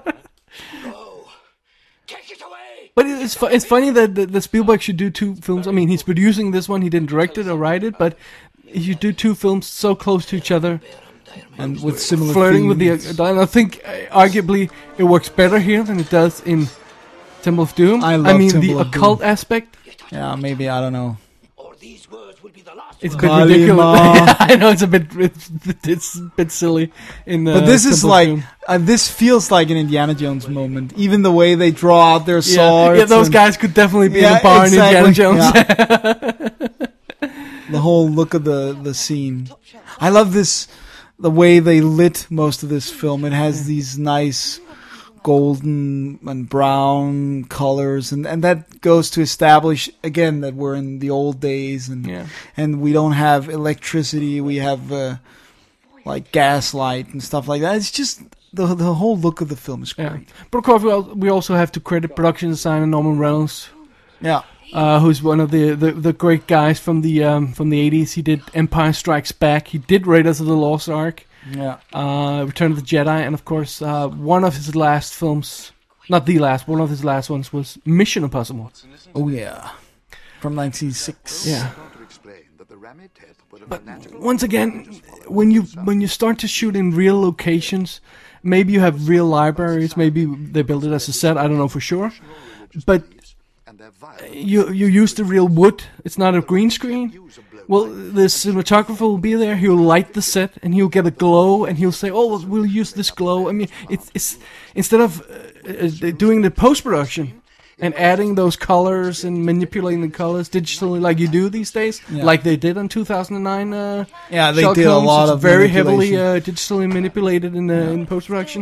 Take it away! But it's funny that Spielberg should do 2 films. I mean, he's producing this one. He didn't direct it or write it, but he should do 2 films so close to each other, And with similar flirting with themes. and I think arguably it works better here than it does in Temple of Doom. I love mean, Temple the of occult aspect. Yeah, maybe, I don't know. Or these words will be the last It's a words. bit ridiculous. Kalima. I know it's a bit silly. In But this is Temple of like, Doom. this feels like an Indiana Jones moment. Even the way they draw out their swords. Yeah, those and guys could definitely be in Yeah, a bar exactly. in Indiana Jones. Yeah. The whole look of the scene. I love this, the way they lit most of this film. It has these nice golden and brown colors, and that goes to establish again that we're in the old days, and Yeah. and we don't have electricity. We have like gaslight and stuff like that. It's just the whole look of the film is Yeah. great. But of course, we also have to credit production designer Norman Reynolds, Yeah. who's one of the great guys from the 80s. He did Empire Strikes Back. He did Raiders of the Lost Ark, Yeah. Return of the Jedi, and of course, one of his last films, not the last, one of his last ones was Mission Impossible. Oh yeah. From 1906. Yeah. To explain that the Rami tape would have been natural. Once again, when you start to shoot in real locations, maybe you have real libraries, maybe they build it as a set. I don't know for sure, but And their violent you use the real wood. It's not a green screen. Well, the cinematographer will be there. He'll light the set, and he'll get a glow, and he'll say, "Oh, we'll use this glow." I mean, it's instead of doing the post production and adding those colors and manipulating the colors digitally like you do these days, like they did in 2009. Yeah, they Sherlock did a Holmes. lot It's of very heavily manipulation. digitally manipulated in post production.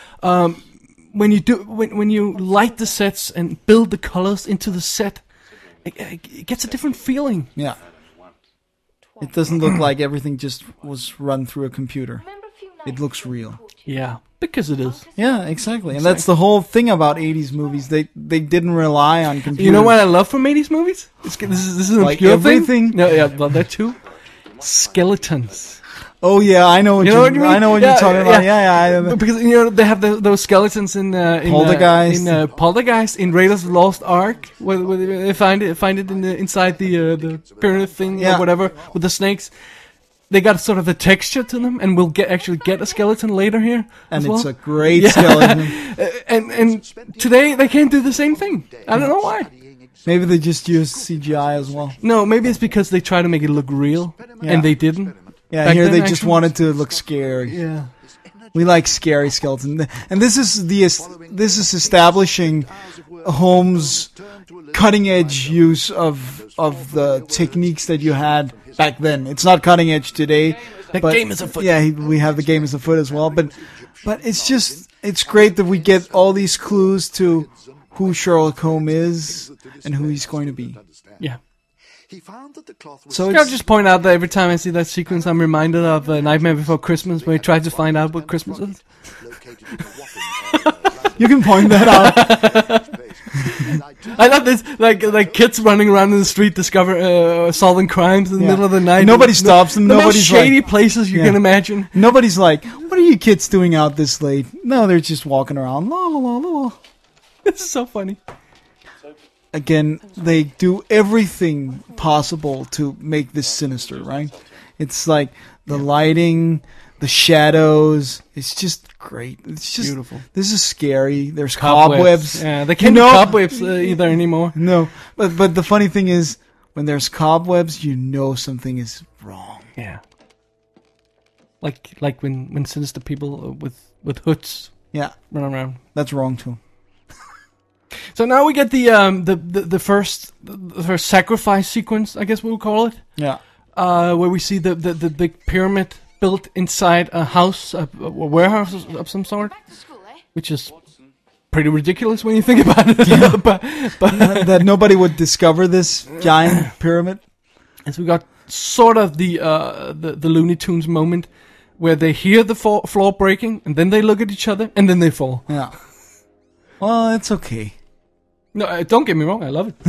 When you light the sets and build the colors into the set, it gets a different feeling. Yeah. It doesn't look like everything just was run through a computer. It looks real. Yeah, because it is. Yeah, exactly. And that's the whole thing about 80s movies. They didn't rely on computers. You know what I love from 80s movies? This is an Like obscure everything? thing. No, yeah, well, that too. Skeletons. Oh yeah, I know what You know what I mean? I know what Yeah, you're talking about. yeah. Yeah. Because they have those skeletons in Poltergeist. in Poltergeist, in Raiders of the Lost Ark, where they find it inside the pyramid thing Yeah. or whatever with the snakes. They got sort of the texture to them, and we'll actually get a skeleton later here. And as it's well. a great Yeah. skeleton. and today they can't do the same thing. I don't know why. Maybe they just used CGI as well. No, maybe it's because they try to make it look real, Yeah. and they didn't. Yeah, Back here then, they just actually. wanted to look scary. Yeah. We like scary skeletons, and this is establishing Holmes' cutting edge use of the techniques that you had back then. It's not cutting edge today. The but game is afoot. Yeah, we have the game is afoot as well. But it's great that we get all these clues to who Sherlock Holmes is and who he's going to be. Yeah. He found that the cloth was So I'll just point out that every time I see that sequence, I'm reminded of Nightmare Before Christmas, where he tries to find out what Christmas is. located in a whopping You can point that out. I love this, like kids running around in the street, solving crimes in the Yeah. middle of the night. Nobody stops them. The most Nobody's shady like, places you Yeah. can imagine. nobody's like, what are you kids doing out this late? No, they're just walking around. La la la la. It's so funny. Again, they do everything possible to make this sinister, right? It's like the lighting, the shadows. It's just great. It's just Beautiful. This is scary. There's cobwebs. Yeah, they can't You do know- cobwebs either anymore. No, but the funny thing is, when there's cobwebs, you know something is wrong. Yeah. Like when sinister people with hoods Yeah, run around. that's wrong too. So now we get the first sacrifice sequence, I guess we'll call it. Yeah, Where we see the big pyramid built inside a house, a warehouse of some sort, Back to school, eh? which is pretty ridiculous when you think about it. but that nobody would discover this giant pyramid. as we got sort of the Looney Tunes moment where they hear the floor breaking, and then they look at each other, and then they fall. Yeah. Well, it's okay. No, don't get me wrong, I love it.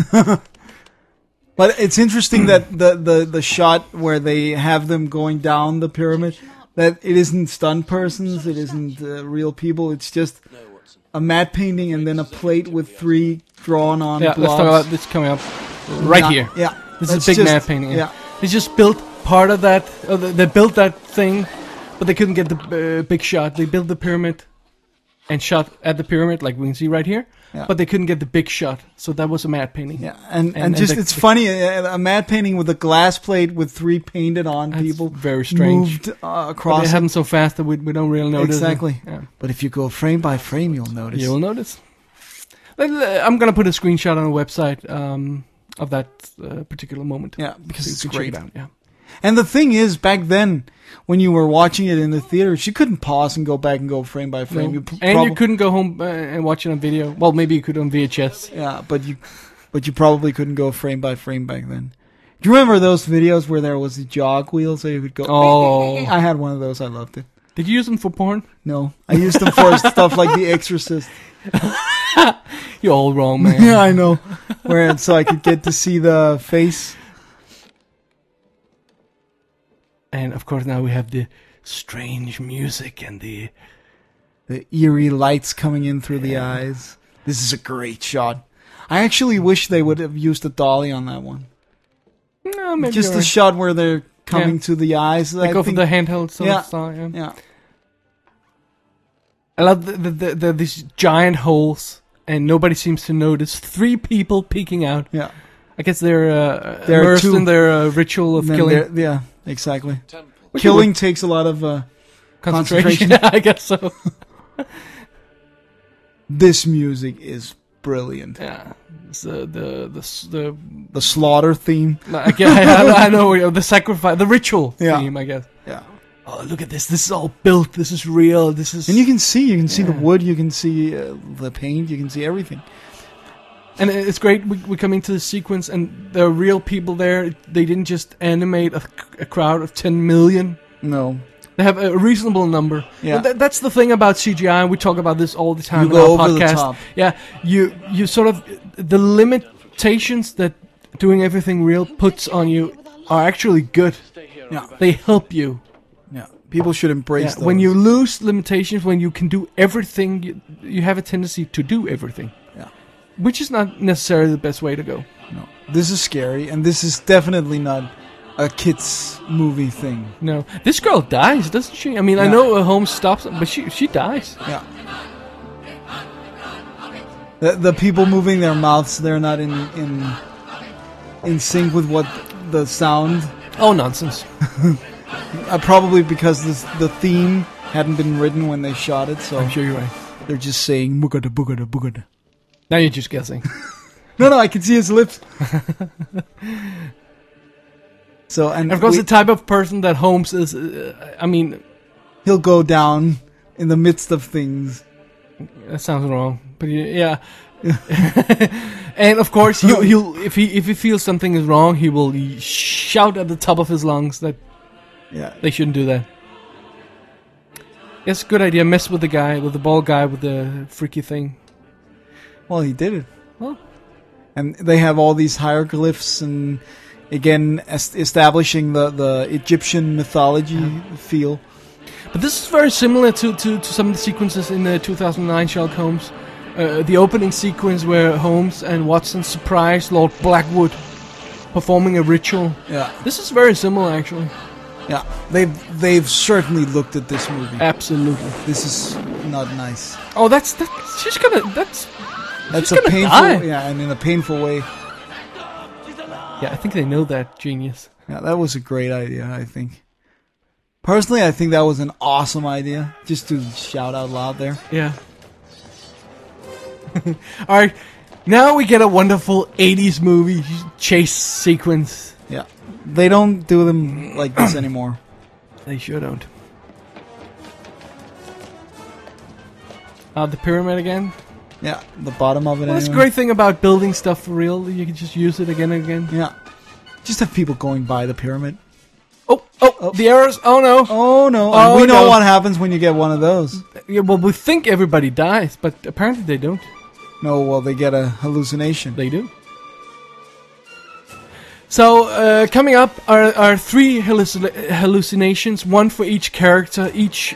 But it's interesting that the shot where they have them going down the pyramid, That it isn't stunt persons, it isn't real people. It's just a matte painting and then a plate with 3 drawn on Yeah, blobs. let's talk about this coming up right Yeah, here. Yeah, This that's is a big just- matte painting. Yeah, They just built part of that. They built that thing, but they couldn't get the big shot. They built the pyramid and shot at the pyramid, like we can see right here. Yeah. But they couldn't get the big shot, so that was a matte painting. yeah, and just it's funny a matte painting with a glass plate with 3 painted on That's people. very strange. Moved But across. it it. happened so fast that we don't really notice. Exactly. Yeah. But if you go frame by frame, you'll notice. You'll notice. I'm gonna put a screenshot on the website of that particular moment. Yeah, because So you it's can check great. it out. Yeah. And the thing is, back then, when you were watching it in the theaters, you couldn't pause and go back and go frame by frame. No. You And you couldn't go home and watch it on video. Well, maybe you could on VHS. Yeah, but you probably couldn't go frame by frame back then. Do you remember those videos where there was the jog wheel so you could go? Oh. I had one of those. I loved it. Did you use them for porn? No, I used them for stuff like The Exorcist. You're all wrong, man. Yeah, I know. Where so I could get to see the face. And of course, now we have the strange music and the eerie lights coming in through the eyes. This is a great shot. I actually wish they would have used a dolly on that one. no, maybe Just you're the right. shot where they're coming Yeah. to the eyes. They I go for think- the handheld sort Yeah. of style. Yeah. Yeah. I love these giant holes, and nobody seems to notice. 3 people peeking out. Yeah. I guess they're There are immersed 2. in their ritual of Then killing. there- yeah, exactly. Temple. Killing takes a lot of Concentration. concentration. I guess so. This music is brilliant. Yeah. It's, the The slaughter theme. I know the sacrifice, the ritual Yeah. theme, I guess. Yeah. Oh, look at this! This is all built. This is real. This is And you can see the Yeah. wood, you can see the paint, you can see everything. And it's great. We come into the sequence, and there are real people there. They didn't just animate a crowd of 10 million. No. They have a reasonable number. Yeah. And that's the thing about CGI. We talk about this all the time You in go our over the podcast. top. Yeah, you sort of the limitations that doing everything real puts on you are actually good. Stay here. Yeah. They help you. Yeah. People should embrace Yeah, those. when you lose limitations, when you can do everything, you have a tendency to do everything. Yeah. Which is not necessarily the best way to go. No. This is scary, and this is definitely not a kids movie thing. No, this girl dies, doesn't she? I mean, I Yeah. know Holmes stops, but she dies. Yeah. The people moving their mouths, they're not in sync with what the sound. Oh, nonsense. Probably because the theme hadn't been written when they shot it, so I'm sure you're right. they're just saying boogada boogada boogada. Now you're just guessing. No, I can see his lips. So and Of course, we- the type of person that Holmes is, I mean, he'll go down in the midst of things. that sounds wrong, but yeah. And of course, he'll if he feels something is wrong, he will shout at the top of his lungs that Yeah, they shouldn't do that. It's a good idea. Mess with the guy, with the bald guy with the freaky thing. well, he did it. Well, And they have all these hieroglyphs and again establishing the Egyptian mythology feel. but this is very similar to some of the sequences in the 2009 Sherlock Holmes. The opening sequence where Holmes and Watson surprise Lord Blackwood performing a ritual. Yeah, This is very similar, actually. yeah. They've certainly looked at this movie. Absolutely. This is not nice. Oh, that's she's gonna. That's She's a gonna painful, die. yeah, and in a painful way. Yeah, I think they know that genius. Yeah, that was a great idea. I think. Personally, I think that was an awesome idea. Just to shout out loud there. Yeah. All right, now we get a wonderful 80s movie chase sequence. Yeah, they don't do them like this anymore. They sure don't. The pyramid again. Yeah, the bottom of it. Well, that's the anyway. great thing about building stuff for real. You can just use it again and again. Yeah, just have people going by the pyramid. Oh, the arrows. Oh no. Oh no! Oh, And we know no. what happens when you get one of those. Yeah, well, we think everybody dies, but apparently they don't. No, well, they get a hallucination. They do. So, coming up are 3 hallucinations, one for each character, each,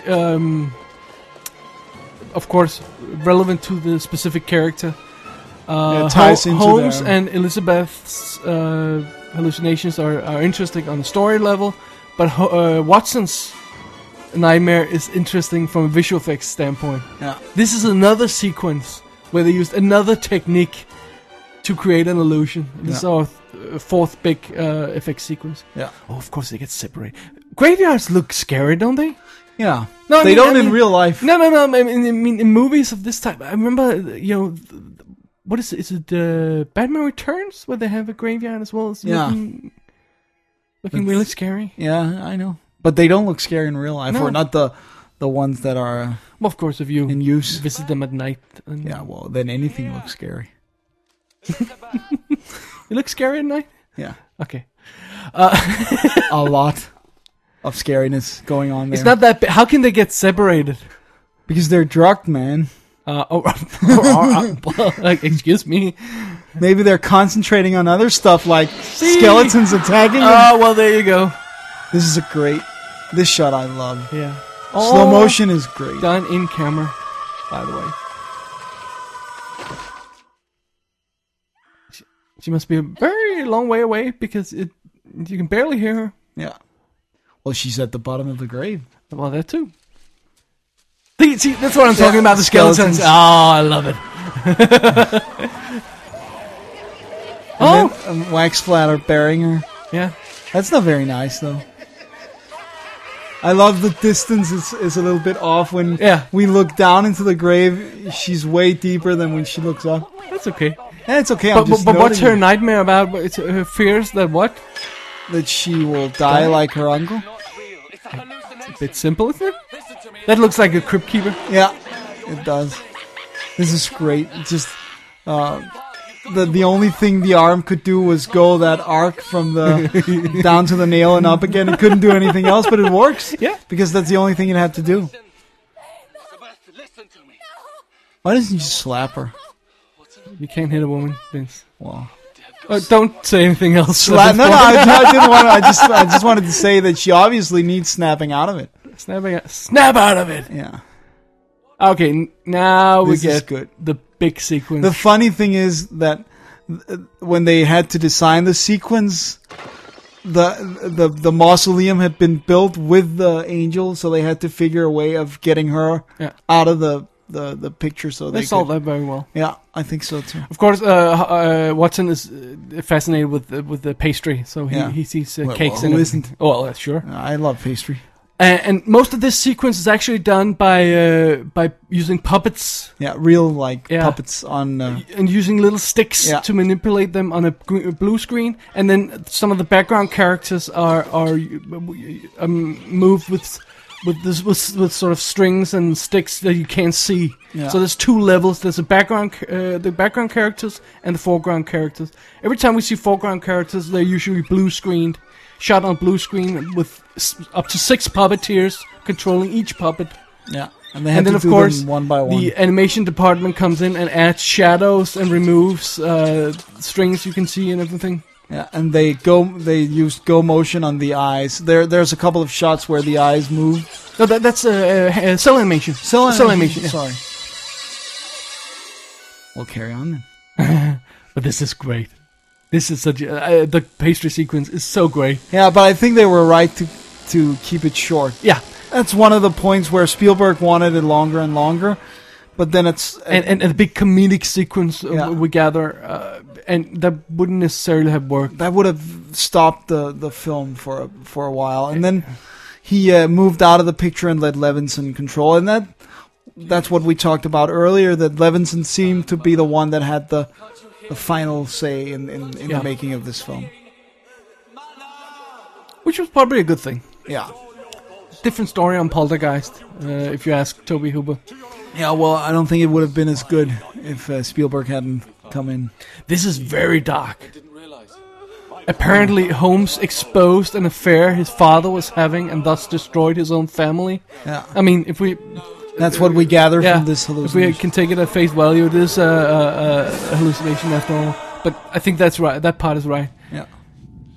of course, relevant to the specific character. Ties into Holmes their- and Elizabeth's hallucinations are interesting on the story level, but Watson's nightmare is interesting from a visual effects standpoint. Yeah. This is another sequence where they used another technique to create an illusion. This is our fourth big effect sequence. Yeah. Oh, of course they get separated. Graveyards look scary, don't they? Yeah. No, I they mean- don't I in mean- real life. No. I mean, in movies of this type, I remember, what is it? Is it Batman Returns where they have a graveyard as well? It's Yeah. looking really scary. Yeah, I know. But they don't look scary in real life, No. or not the ones that are Well, of course, if you in use. visit them at night. And Yeah, well, then anything looks scary. It looks scary at night? Yeah. Okay. A lot of scariness going on there. It's not that bad. How can they get separated? because they're drugged, man. Like, excuse me. Maybe they're concentrating on other stuff like skeletons attacking them. Oh, well, there you go. This is this shot I love. Yeah. Slow motion is great. Done in camera, by the way. She must be a very long way away because you can barely hear her. Yeah. Well, she's at the bottom of the grave. Well, that too. See, that's what I'm talking about, the skeletons. skeletons. Oh, I love it. And then a wax splatter burying her. Yeah. That's not very nice, though. I love the distance is a little bit off when we look down into the grave. She's way deeper than when she looks up. That's okay. Yeah, it's okay. But what's her nightmare about? It's her fears that what? That she will die like her uncle. It's a bit simple, isn't it? That looks like a crypt keeper. Yeah, it does. This is great. Just the only thing the arm could do was go that arc from the down to the nail and up again. It couldn't do anything else, but it works. Yeah, because that's the only thing it had to do. Why doesn't you just slap her? You can't hit a woman, Vince. Well, don't say anything else. I didn't want. I just wanted to say that she obviously needs snapping out of it. Snap out of it. Yeah. Okay, now This we is get good. the big sequence. The funny thing is that when they had to design the sequence, the mausoleum had been built with the angel, so they had to figure a way of getting her out of the picture. So they solved that very well. Yeah, I think so too. Of course, Watson is fascinated with the pastry, so he sees cakes. Who isn't? Oh, well, sure. I love pastry. And most of this sequence is actually done by using puppets. Yeah, real puppets on and using little sticks to manipulate them on a blue screen. And then some of the background characters are moved with sort of strings and sticks that you can't see. Yeah. So there's two levels. There's the background characters and the foreground characters. Every time we see foreground characters, they're usually blue screened. Shot on blue screen with up to 6 puppeteers controlling each puppet. Yeah, and they have then to of do course them one by one. the animation department comes in and adds shadows and removes strings you can see and everything. Yeah, and they use go motion on the eyes. There's a couple of shots where the eyes move. No, that's cell animation. Cell animation. Yeah. Sorry. We'll carry on then. But this is great. This is such the pastry sequence is so great. Yeah, but I think they were right to keep it short. Yeah, that's one of the points where Spielberg wanted it longer and longer, but then it's and a big comedic sequence we gather, and that wouldn't necessarily have worked. That would have stopped the film for a while, and then he moved out of the picture and let Levinson control, and that's what we talked about earlier. That Levinson seemed to be the one that had the final say in the making of this film. Which was probably a good thing. Yeah. Different story on Poltergeist, if you ask Toby Hooper. Yeah, well, I don't think it would have been as good if Spielberg hadn't come in. This is very dark. Apparently, Holmes exposed an affair his father was having and thus destroyed his own family. Yeah. I mean, if we... That's what we gather from this hallucination. If we can take it at face value, it is a hallucination after all. But I think that's right. That part is right. Yeah.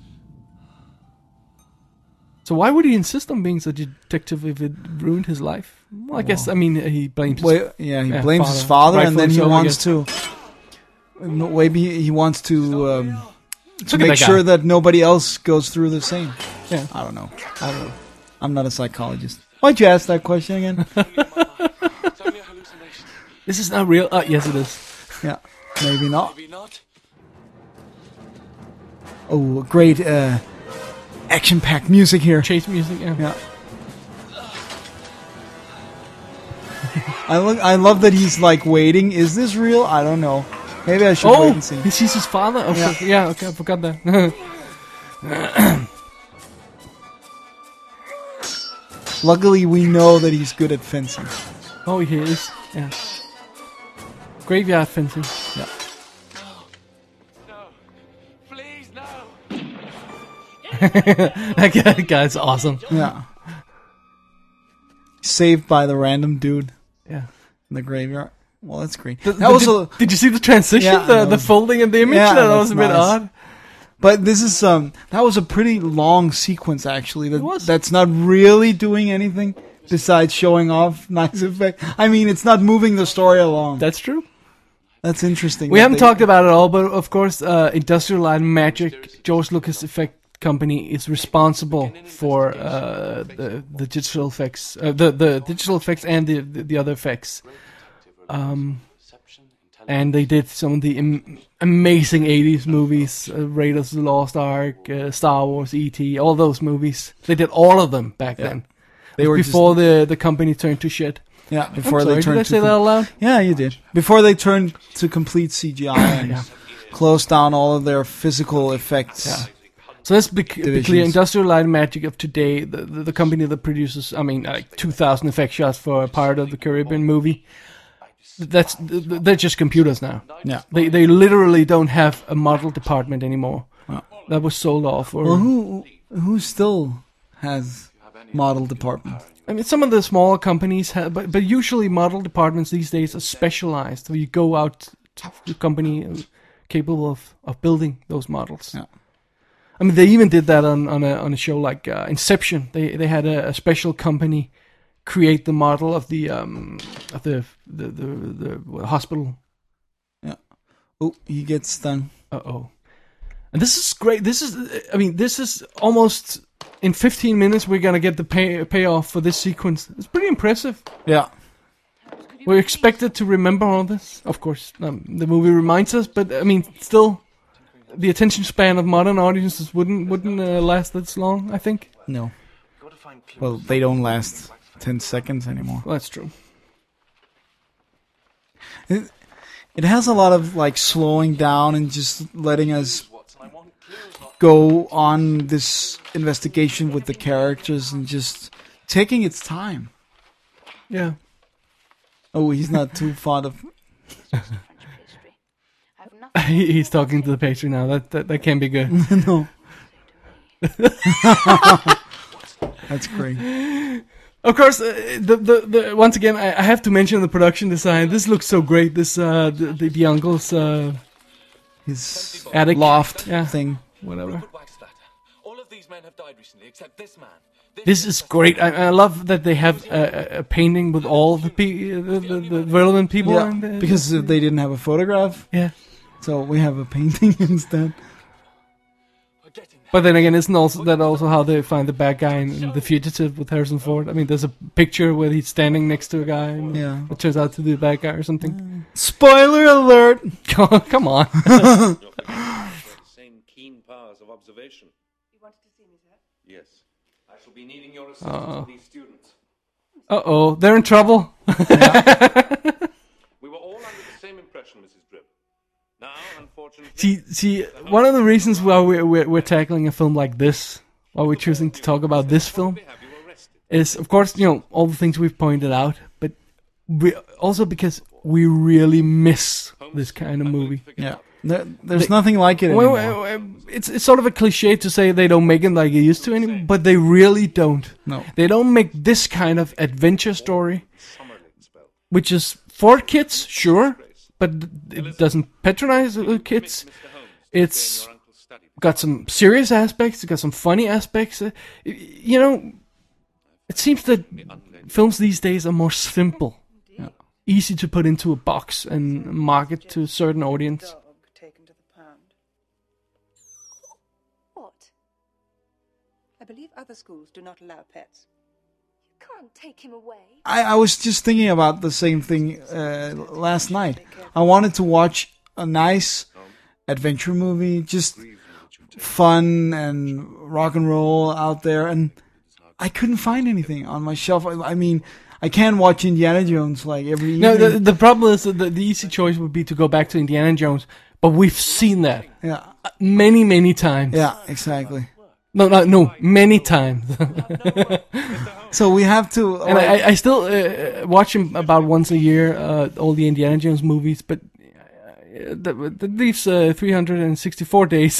So why would he insist on being such a detective if it ruined his life? Well, I guess, I mean, he blames Well, yeah, he blames his father, and then he Rightfully so, I wants guess. to. Maybe he wants to Look at make that guy. sure that nobody else goes through the same. Yeah. I don't know. I'm not a psychologist. Why'd you ask that question again? It's only a hallucination. This is not real. Yes, it is. Yeah, maybe not. Maybe not. Oh, great action-packed music here. Chase music, yeah. Yeah. I love that he's like waiting. Is this real? I don't know. Maybe I should wait Oh, and see. he sees his father? Okay. Yeah, okay, I forgot that. Luckily, we know that he's good at fencing. Oh, he is. Yeah. Graveyard fencing. Yeah. No. Please, no. That guy's awesome. Yeah. Saved by the random dude Yeah. in the graveyard. Well, that's great. Did, That was a, did you see the transition? Yeah, the that was- folding of the image? Yeah, that was a that's bit nice. odd. but this is that was a pretty long sequence actually. It was. That's not really doing anything besides showing off nice effect. I mean, it's not moving the story along. That's true. That's interesting. We that haven't they- talked about it all, but of course, Industrial Light and Magic, George Lucas Effect Company, is responsible for the digital effects, the digital effects and the other effects. And they did some of the amazing 80s movies, Raiders of the Lost Ark, Star Wars, E.T., all those movies. They did all of them back then. They were before the company turned to shit. Yeah, before I'm sorry, they turned did I to say that out loud? Yeah, you did. Before they turned to complete CGI and closed down all of their physical effects. Yeah. So let's be clear. Divisions. Industrial Light and Magic of today, the company that produces, I mean, like 2,000 effect shots for a part of the Caribbean movie. They're just computers now. Yeah. They literally don't have a model department anymore. Wow. That was sold off. Or, Well, who still has model department? I mean, some of the smaller companies have, but usually model departments these days are specialized. So you go out to a company capable of building those models. Yeah. I mean, they even did that on a show like Inception. They had a special company create the model of the hospital. Yeah. Oh, he gets stung. Uh-oh. And this is great. This is almost in 15 minutes we're gonna get the payoff for this sequence. It's pretty impressive. Yeah. We're expected to remember all this. Of course, the movie reminds us, but I mean, still, the attention span of modern audiences wouldn't last this long, I think. No. Well, they don't last 10 seconds anymore. Well, that's true. It has a lot of like slowing down and just letting us go on this investigation with the characters and just taking its time. Yeah. Oh, he's not too fond of. He's talking to the pastry now. That can't be good. No. That's great. Of course, the once again, I have to mention the production design. This looks so great. This the uncle's His attic loft Yeah. thing. whatever. Rupert Waxflatter. All of these men have died recently, except this man. This is great. I love that they have a painting with all the the relevant people. Yeah, in there. because they didn't have a photograph, yeah. so we have a painting instead. We're getting there. But then again, isn't that also how they find the bad guy in The Fugitive with Harrison Ford? I mean, there's a picture where he's standing next to a guy, and Yeah. it turns out to be the bad guy or something. Spoiler alert! Come on. Same keen powers of observation. You wanted to see me, sir? Yes. I shall be needing your assistance with these students. Uh-oh, they're in trouble. We were all under the same impression, Mrs. Drip. Now, unfortunately... See, one of the reasons why we're tackling a film like this, why we're choosing to talk about this film, have you arrested? is, of course, all the things we've pointed out, but also because we really miss this kind of movie. Yeah, there's nothing like it anymore. Well, it's sort of a cliche to say they don't make it like they used to anymore, but they really don't. No. They don't make this kind of adventure story, which is for kids, sure, but it doesn't patronize kids. It's got some serious aspects, got some funny aspects. You know, it seems that films these days are more simple, easy to put into a box and market to a certain audience. Dog taken to the pound. What? I believe other schools do not allow pets. You can't take him away. I was just thinking about the same thing last night. I wanted to watch a nice adventure movie, just fun and rock and roll out there, and I couldn't find anything on my shelf. I mean, I can watch Indiana Jones like every evening. No, the problem is that the easy choice would be to go back to Indiana Jones, but we've seen that many times. Yeah, exactly. No, many times. So we have to. And I still watch him about once a year, all the Indiana Jones movies, but that leaves 364 days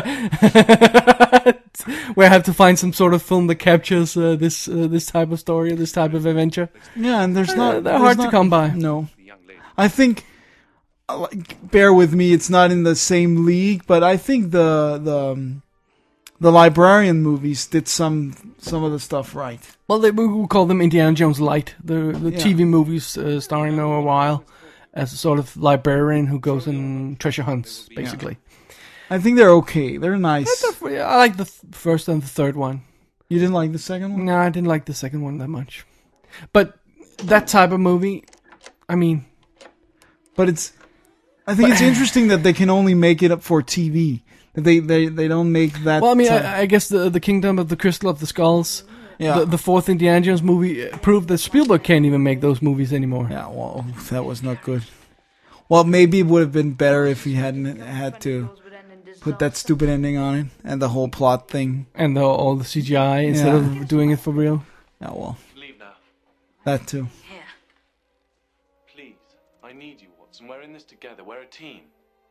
where I have to find some sort of film that captures this type of story, this type of adventure. Yeah, and they're hard to come by. No, I think. Bear with me, it's not in the same league, but I think the Librarian movies did some of the stuff right. Well, we call them Indiana Jones Light, the TV movies starring Noah Weil as a sort of librarian who goes and treasure hunts, basically. I think they're okay. They're nice. I like the first and the third one. You didn't like the second one? No, I didn't like the second one that much. But that type of movie, I mean... But I think it's interesting that they can only make it up for TV. They don't make that... Well, I mean, I guess the Kingdom of the Crystal of the Skulls, the fourth Indiana Jones movie, proved that Spielberg can't even make those movies anymore. Yeah, well, that was not good. Well, maybe it would have been better if he hadn't had to put that stupid ending on it, and the whole plot thing. And all the CGI instead of doing it for real. Yeah, well, Leave now. that too. Here. Please. I need you, Watson. We're in this together. We're a team.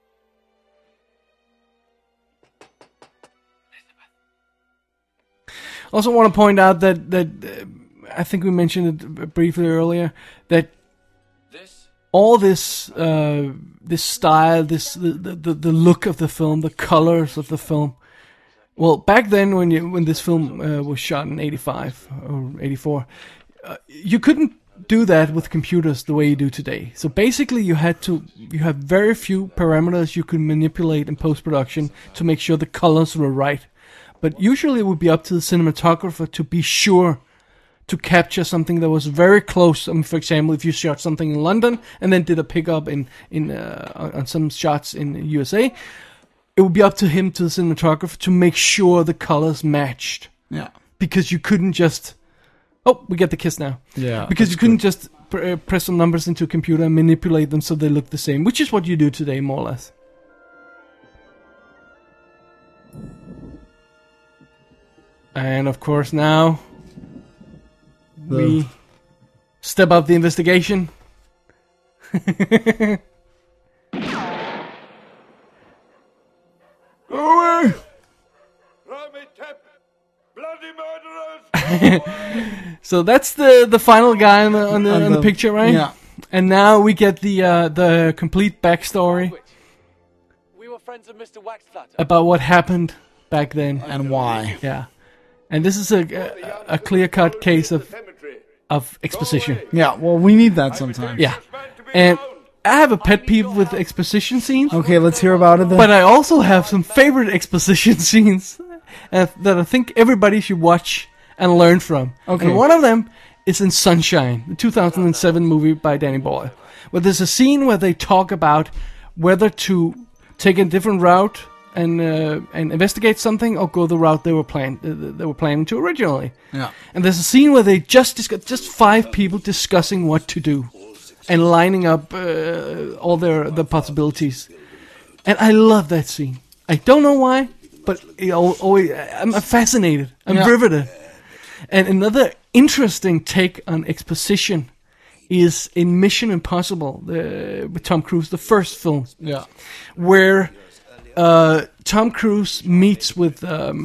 Also want to point out that I think we mentioned it briefly earlier, that all this this style, the look of the film, the colors of the film. Well, back then when this film was shot in 85 or 84, you couldn't do that with computers the way you do today. So basically you have very few parameters you could manipulate in post-production to make sure the colors were right. But usually it would be up to the cinematographer to be sure to capture something that was very close. I mean, for example, if you shot something in London and then did a pickup on some shots in the USA, it would be up to him, to the cinematographer, to make sure the colors matched. Yeah. Because you couldn't just... Oh, we get the kiss now. Yeah. Because you couldn't just press some numbers into a computer and manipulate them so they look the same, which is what you do today, more or less. And of course now we step up the investigation. Rami Tep! Bloody murderers! So that's the final guy on the picture, right? Yeah. And now we get the complete backstory We were friends of Mr. Waxflatter. about what happened back then. And why? Yeah. And this is a clear-cut case of exposition. Yeah, well, we need that sometimes. Yeah. And I have a pet peeve with exposition scenes. Okay, let's hear about it then. But I also have some favorite exposition scenes that I think everybody should watch and learn from. Okay. And one of them is in Sunshine, the 2007 movie by Danny Boyle, where there's a scene where they talk about whether to take a different route and investigate something, or go the route they were planning to originally. Yeah. And there's a scene where they just 5 people discussing what to do and lining up all the possibilities. And I love that scene. I don't know why, but I'm fascinated. I'm riveted. And another interesting take on exposition is in Mission Impossible with Tom Cruise, the first film. Yeah. Where Tom Cruise meets with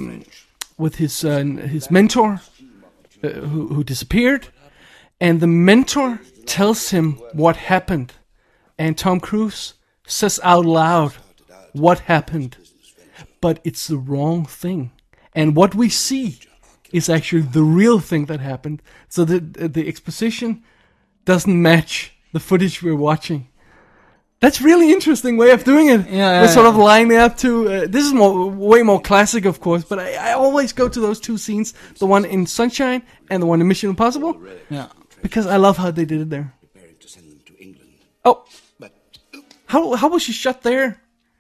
his mentor who disappeared, and the mentor tells him what happened, and Tom Cruise says out loud what happened, but it's the wrong thing. And what we see is actually the real thing that happened. So the exposition doesn't match the footage we're watching. That's really interesting way of doing it. We're sort of lining up to... this is way more classic, of course, but I always go to those two scenes. The one in Sunshine and the one in Mission Impossible. Yeah. Because I love how they did it there. Oh. How was she shot there?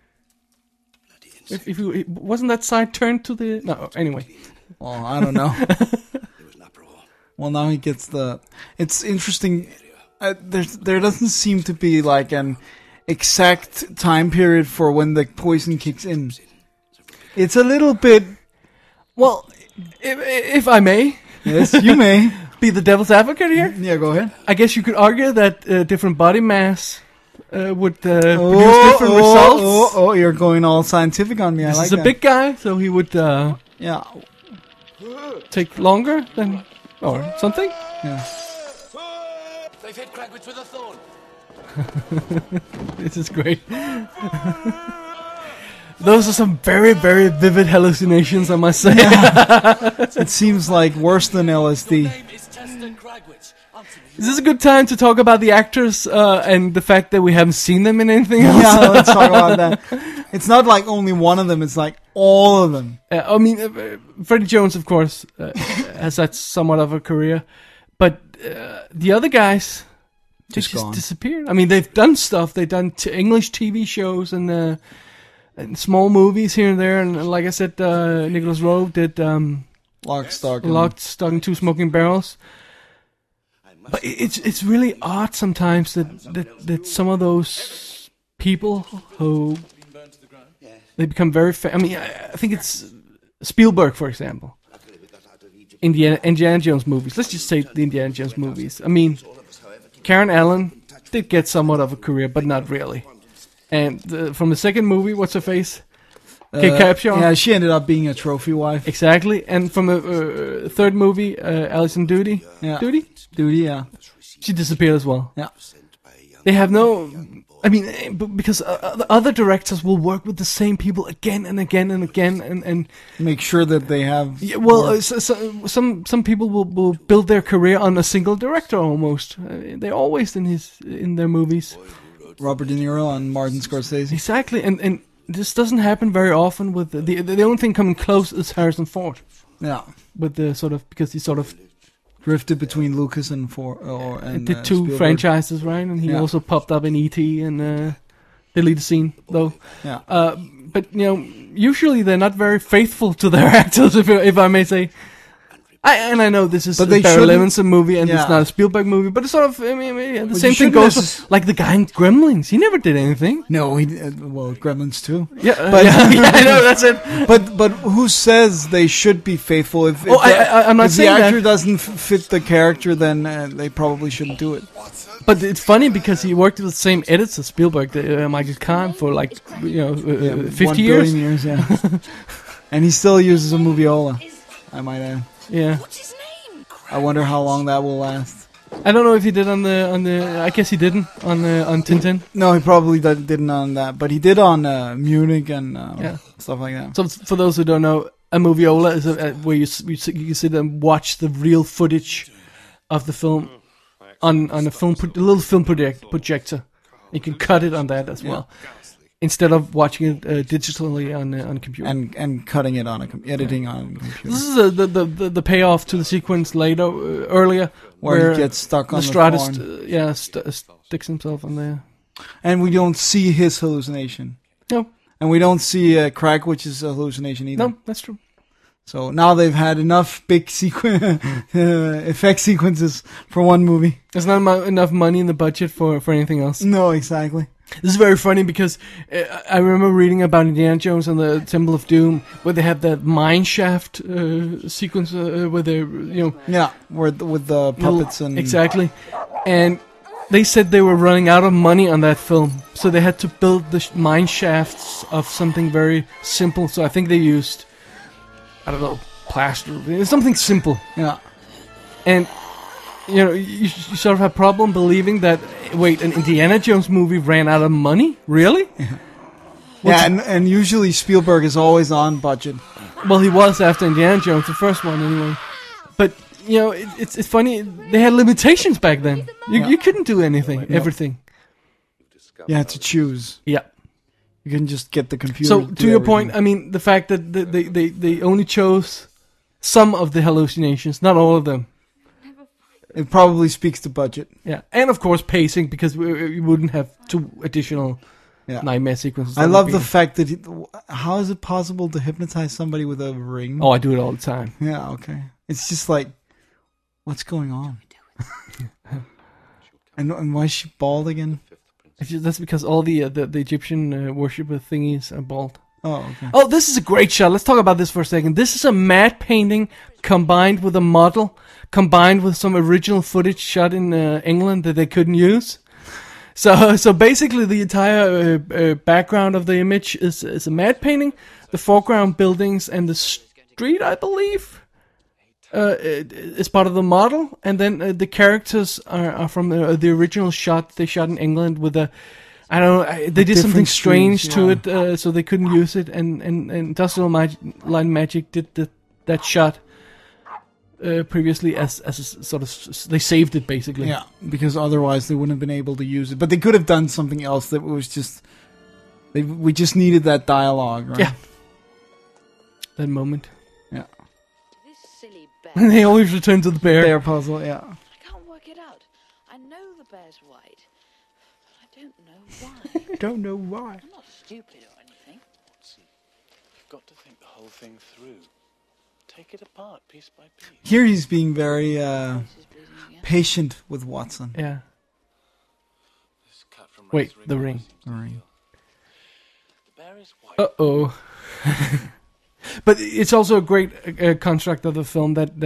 If you, wasn't that side turned to the... No, anyway. Well, I don't know. Well, now he gets the... It's interesting. There doesn't seem to be like an exact time period for when the poison kicks in. It's a little bit... Well, if I may... Yes, you may. Be the devil's advocate here? Yeah, go ahead. I guess you could argue that different body mass would produce different results. Oh, you're going all scientific on me. This I like is a that. big guy, so he would Yeah. take longer than... Or something? Yeah. They've hit Cragwitz with a thorn. This is great. Those are some very, very vivid hallucinations, I must say. It seems like worse than LSD. Name is Tester Cragwitz. Answer me. Is this a good time to talk about the actors and the fact that we haven't seen them in anything else? Yeah, let's talk about that. It's not like only one of them, it's like all of them. I mean, Freddie Jones, of course, has had somewhat of a career. But the other guys, they just gone. disappeared. I mean, they've done stuff. They've done English TV shows and small movies here and there. And like I said, Nicholas Rowe did Lock, Stock, and Two Smoking Barrels. But it's really odd sometimes that some of those people who they become very I mean, I think it's Spielberg, for example. Indiana Jones movies. Let's just say the Indiana Jones movies. I mean, Karen Allen did get somewhat of a career, but not really. And from the second movie, what's her face? Kate Capshaw. Yeah, she ended up being a trophy wife. Exactly. And from the third movie, Alison Doody. Yeah. Doody, yeah. she disappeared as well. Yeah. They have no... I mean, because the other directors will work with the same people again and again and again, and Make sure that they have... yeah, well, some people will build their career on a single director almost. They're always in their movies. Robert De Niro and Martin Scorsese. Exactly, and this doesn't happen very often. With the only thing coming close is Harrison Ford. Yeah. With the sort of, because he sort of Drifted between Lucas and did two Spielberg. franchises, right? And he also popped up in E.T. and the lead scene, though. Yeah. But you know, usually they're not very faithful to their actors, if I may say. I know this is a Barry Levinson movie and it's not a Spielberg movie, but it's sort of, I mean, the same thing goes like the guy in Gremlins. He never did anything. No, well, Gremlins too. Yeah, but I know, that's it. But who says they should be faithful? If I'm not saying the actor that. doesn't fit the character, then they probably shouldn't do it. But it's funny because he worked with the same editors as Spielberg, Michael Kahn, for like 50 years. 1 billion years, yeah. And he still uses a moviola, I might add. Yeah. What's his name? I wonder how long that will last. I don't know if he did on the. I guess he didn't on Tintin. No, he probably didn't on that, but he did on Munich and stuff like that. So for those who don't know, a moviola is where you sit and watch the real footage of the film on a little film projector. You can cut it on that as well, instead of watching it digitally on a computer and cutting it on editing on a computer. This is the payoff to the sequence earlier where he gets stuck on Lestrade the thorn. sticks himself on there, and we don't see his hallucination. No, and we don't see Cragwitz's hallucination either. No, that's true. So now they've had enough big effect sequences for one movie. There's not enough money in the budget for anything else. No, exactly. This is very funny because I remember reading about Indiana Jones and the Temple of Doom, where they have that mine shaft sequence where they, with the puppets and exactly, and they said they were running out of money on that film, so they had to build the mine shafts of something very simple. So I think they used, I don't know, plaster, something simple. Yeah, and. You know, you sort of have a problem believing that, wait, an Indiana Jones movie ran out of money? Really? Yeah, and usually Spielberg is always on budget. Well, he was after Indiana Jones, the first one anyway. But you know, it's funny. They had limitations back then. You couldn't do anything, everything. You had to choose. Yeah. You couldn't just get the computer. So to do to your everything. point, I mean, the fact that they only chose some of the hallucinations, not all of them. It probably speaks to budget. Yeah, and of course pacing, because we wouldn't have 2 additional Yeah. nightmare sequences. I That love would the be- fact that how is it possible to hypnotize somebody with a ring? Oh, I do it all the time. Yeah, okay. It's just like, what's going on? and why is she bald again? That's because all the Egyptian worshipper thingies are bald. Oh, okay. Oh, this is a great shot. Let's talk about this for a second. This is a matte painting combined with a model, combined with some original footage shot in England that they couldn't use. So basically, the entire background of the image is a matte painting. The foreground buildings and the street, I believe, is part of the model, and then the characters are from the original shot they shot in England with a. I don't know. They did something different strange streams, to it, so they couldn't use it. And Industrial Light Magic did that shot previously as a sort of, they saved it basically. Yeah, because otherwise they wouldn't have been able to use it. But they could have done something else that was just. We just needed that dialogue, right? Yeah. That moment. Yeah. This silly bear. They always return to the bear. Bear puzzle, yeah. I can't work it out. I know the bear's white, but I don't know why. Don't know why. I'm not stupid or anything. You've got to think the whole thing through. Take it apart piece by piece. Here he's being very This is bleeding again. patient with Watson. Yeah. This cut from Wait, Ray's the ring ring. seems The ring. ideal. The bear is white. Uh-oh. But it's also a great construct of the film that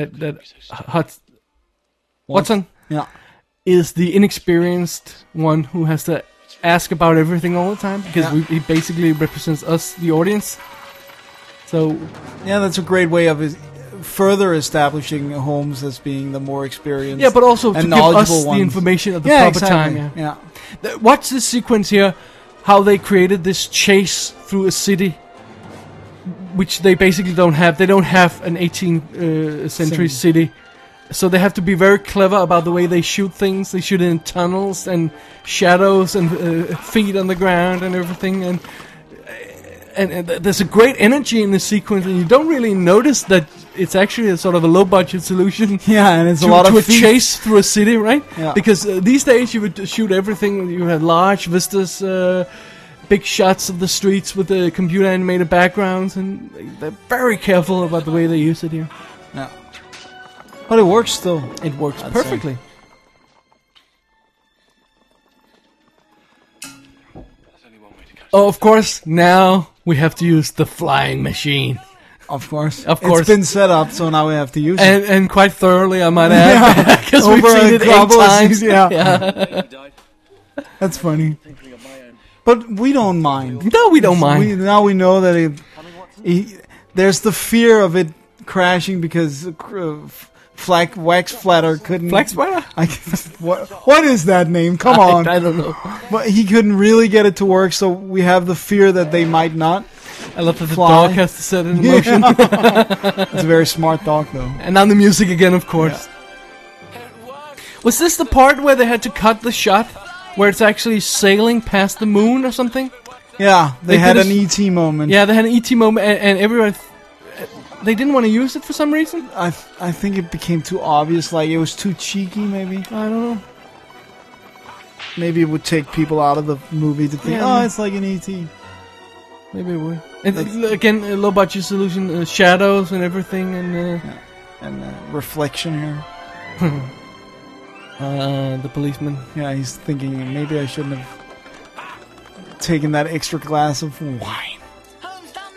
Watson Yeah. is the inexperienced one who has to ask about everything all the time, because Yeah. he basically represents us, the audience. So Yeah, that's a great way of further establishing Holmes as being the more experienced. yeah, but also to and give us knowledgeable the ones. information at the Yeah, proper exactly. time. Yeah. Watch this sequence here, how they created this chase through a city, which they basically don't have. They don't have an 18th century city. So they have to be very clever about the way they shoot things. They shoot in tunnels and shadows and feet on the ground and everything. And there's a great energy in the sequence, and you don't really notice that it's actually a sort of a low-budget solution. Yeah, and it's To, a lot to of a feet. chase through a city, right? Yeah. Because these days you would shoot everything. You had large vistas, big shots of the streets with the computer-animated backgrounds, and they're very careful about the way they use it here. Yeah. But it works still. It works I'd perfectly. There's only one way to catch Oh, of course, now we have to use the flying machine. Of course. Of course. It's been set up, so now we have to use it. And quite thoroughly, I might add, because we've Over seen a it 8 couple of times. seasons, yeah. he died. That's funny. Thinking of my own. But we don't mind. No, we don't mind. Now we know that there's the fear of it crashing because Wax Flatter couldn't. Flax Sweater? What is that name? Come on. I don't know. But he couldn't really get it to work, so we have the fear that they might not. I love that the Fly. dog has to set it in motion. It's a very smart dog, though. And now the music again, of course. Was this the part where they had to cut the shot? Where it's actually sailing past the moon or something? Yeah, they They had did an ET moment. Yeah, they had an ET moment, and everyone... They didn't want to use it for some reason? I think it became too obvious, like it was too cheeky, maybe. I don't know. Maybe it would take people out of the movie to think, Yeah. oh, it's like an ET. Maybe it would. And again, a low budget solution, shadows and everything, and Reflection here. the policeman. Yeah, he's thinking maybe I shouldn't have taken that extra glass of wine. Holmes, down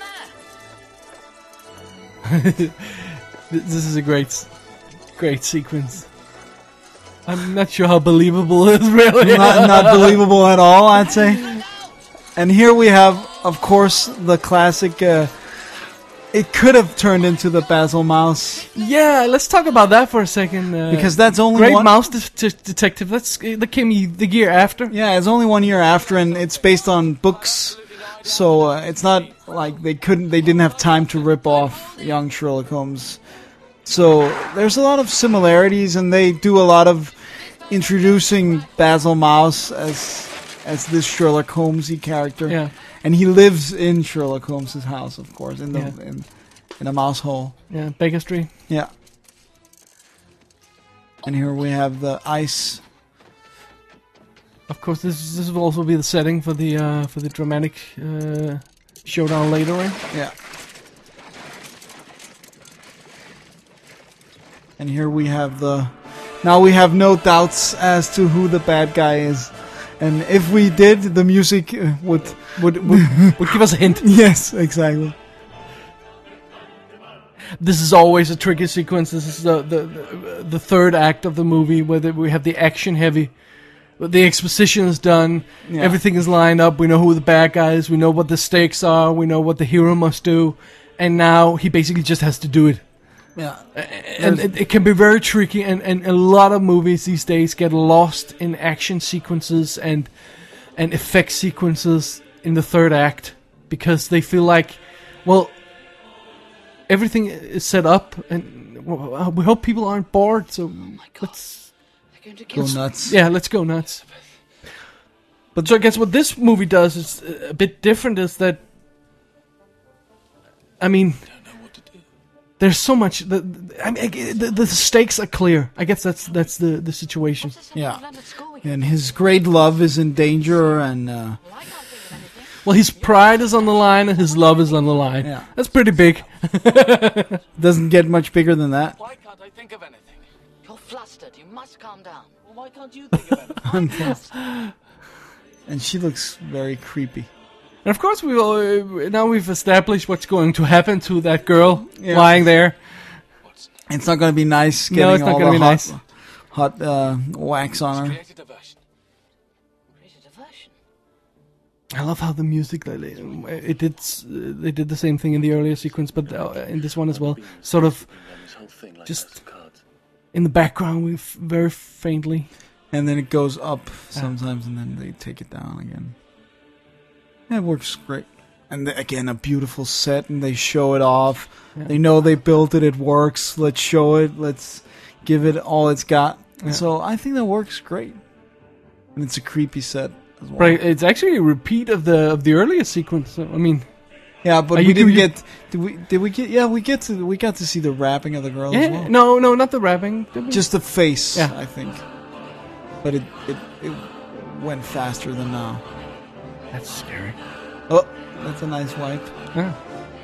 there! This is a great sequence. I'm not sure how believable it is, really. Not believable at all, I'd say. And here we have, of course, the classic. It could have turned into the Basil Mouse Yeah, let's talk about that for a second. because that's only Great one. Mouse Detective. That came the year after. Yeah, it's only 1 year after, and it's based on books So it's not like they didn't have time to rip off young Sherlock Holmes. So there's a lot of similarities, and they do a lot of introducing Basil Mouse as this Sherlock Holmesy character. Yeah. And he lives in Sherlock Holmes's house, of course, in a mouse hole. Yeah, Baker Street. Yeah. And here we have the ice. Of course, this will also be the setting for the dramatic showdown later, right? Yeah. And here we have now we have no doubts as to who the bad guy is. And if we did, the music would give us a hint. Yes, exactly. This is always a tricky sequence. This is the third act of the movie where we have the action heavy. The exposition is done. Yeah. Everything is lined up. We know who the bad guy is. We know what the stakes are. We know what the hero must do. And now he basically just has to do it. Yeah. And it can be very tricky. And a lot of movies these days get lost in action sequences and effect sequences in the third act. Because they feel like, well, everything is set up. And we hope people aren't bored. So let's go nuts. Yeah, let's go nuts. But so I guess what this movie does is a bit different. Is that, I mean, there's so much. The stakes are clear. I guess that's the situation. Yeah, and his great love is in danger, and well, his pride is on the line, and his love is on the line. Yeah, that's pretty big. Doesn't get much bigger than that. Why can't I think of anything? You're flustered. You must calm down. Well, why can't you think of anything? I'm flustered. And she looks very creepy. And of course, now we've established what's going to happen to that girl lying there. It's not going to be nice getting it's not all gonna the be nice. hot wax on her. Create a diversion. I love how the music they did the same thing in the earlier sequence, but in this one as well, sort of just in the background, very faintly. And then it goes up sometimes, and then they take it down again. Yeah, it works great. And again, a beautiful set, and they show it off. Yeah. They know they built it, it works. Let's show it, let's give it all it's got. Yeah. So I think that works great. And it's a creepy set as well. Right, it's actually a repeat of the earlier sequence. So, I mean, yeah, but we didn't get. Did we get? Yeah, we got to see the rapping of the girl as well. No, not the rapping. Just the face. Yeah. I think. But it went faster than now. That's scary. Oh, that's a nice wipe. Yeah.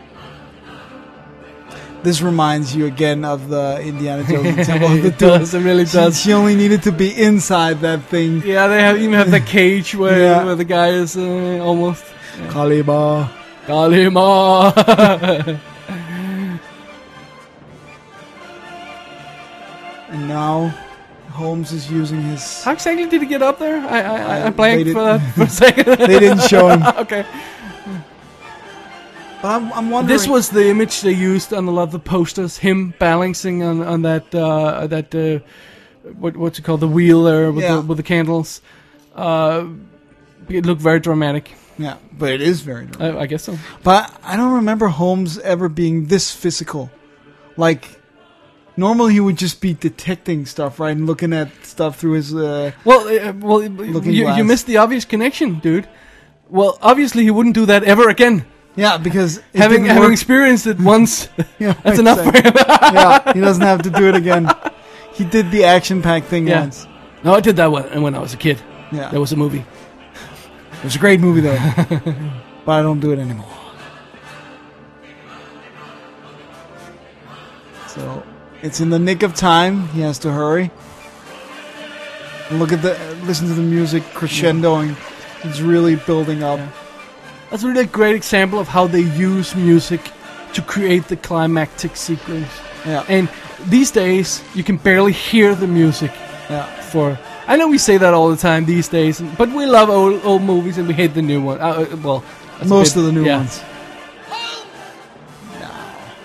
This reminds you again of the Indiana Jones Temple of the It does, it really does. She only needed to be inside that thing. Yeah, they even have the cage where the guy is almost... Yeah. Kalima. And now Holmes is using his... How exactly did he get up there? I blanked for that for a second. They didn't show him. Okay. But I'm wondering... This was the image they used on a lot of the posters. Him balancing on that what's it called, the wheel there with the candles. It looked very dramatic. Yeah, but it is very dramatic. I guess so. But I don't remember Holmes ever being this physical. Like, normally he would just be detecting stuff, right, and looking at stuff through his. You missed the obvious connection, dude. Well, obviously he wouldn't do that ever again. Yeah, because having experienced it once, that's enough for him. Yeah, he doesn't have to do it again. He did the action-packed thing once. No, I did that when I was a kid. Yeah, there was a movie. It was a great movie though, but I don't do it anymore. So it's in the nick of time. He has to hurry. Listen to the music crescendoing. It's really building up. Yeah. That's really a great example of how they use music to create the climactic sequence. Yeah. And these days, you can barely hear the music. Yeah. I know we say that all the time these days, but we love old movies and we hate the new one. Most of the new ones. No.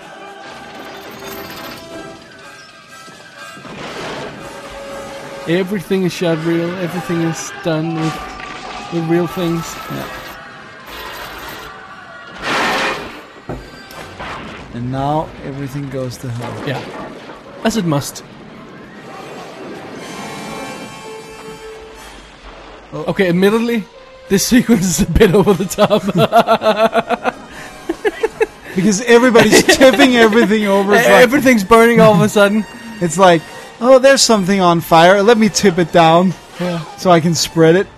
Everything is shot real. Everything is done with real things. Yeah. And now everything goes to hell. Yeah, as it must. Oh. Okay, admittedly, this sequence is a bit over the top. Because everybody's tipping everything over. It's like, Everything's burning all of a sudden. it's like, oh, there's something on fire. Let me tip it down so I can spread it.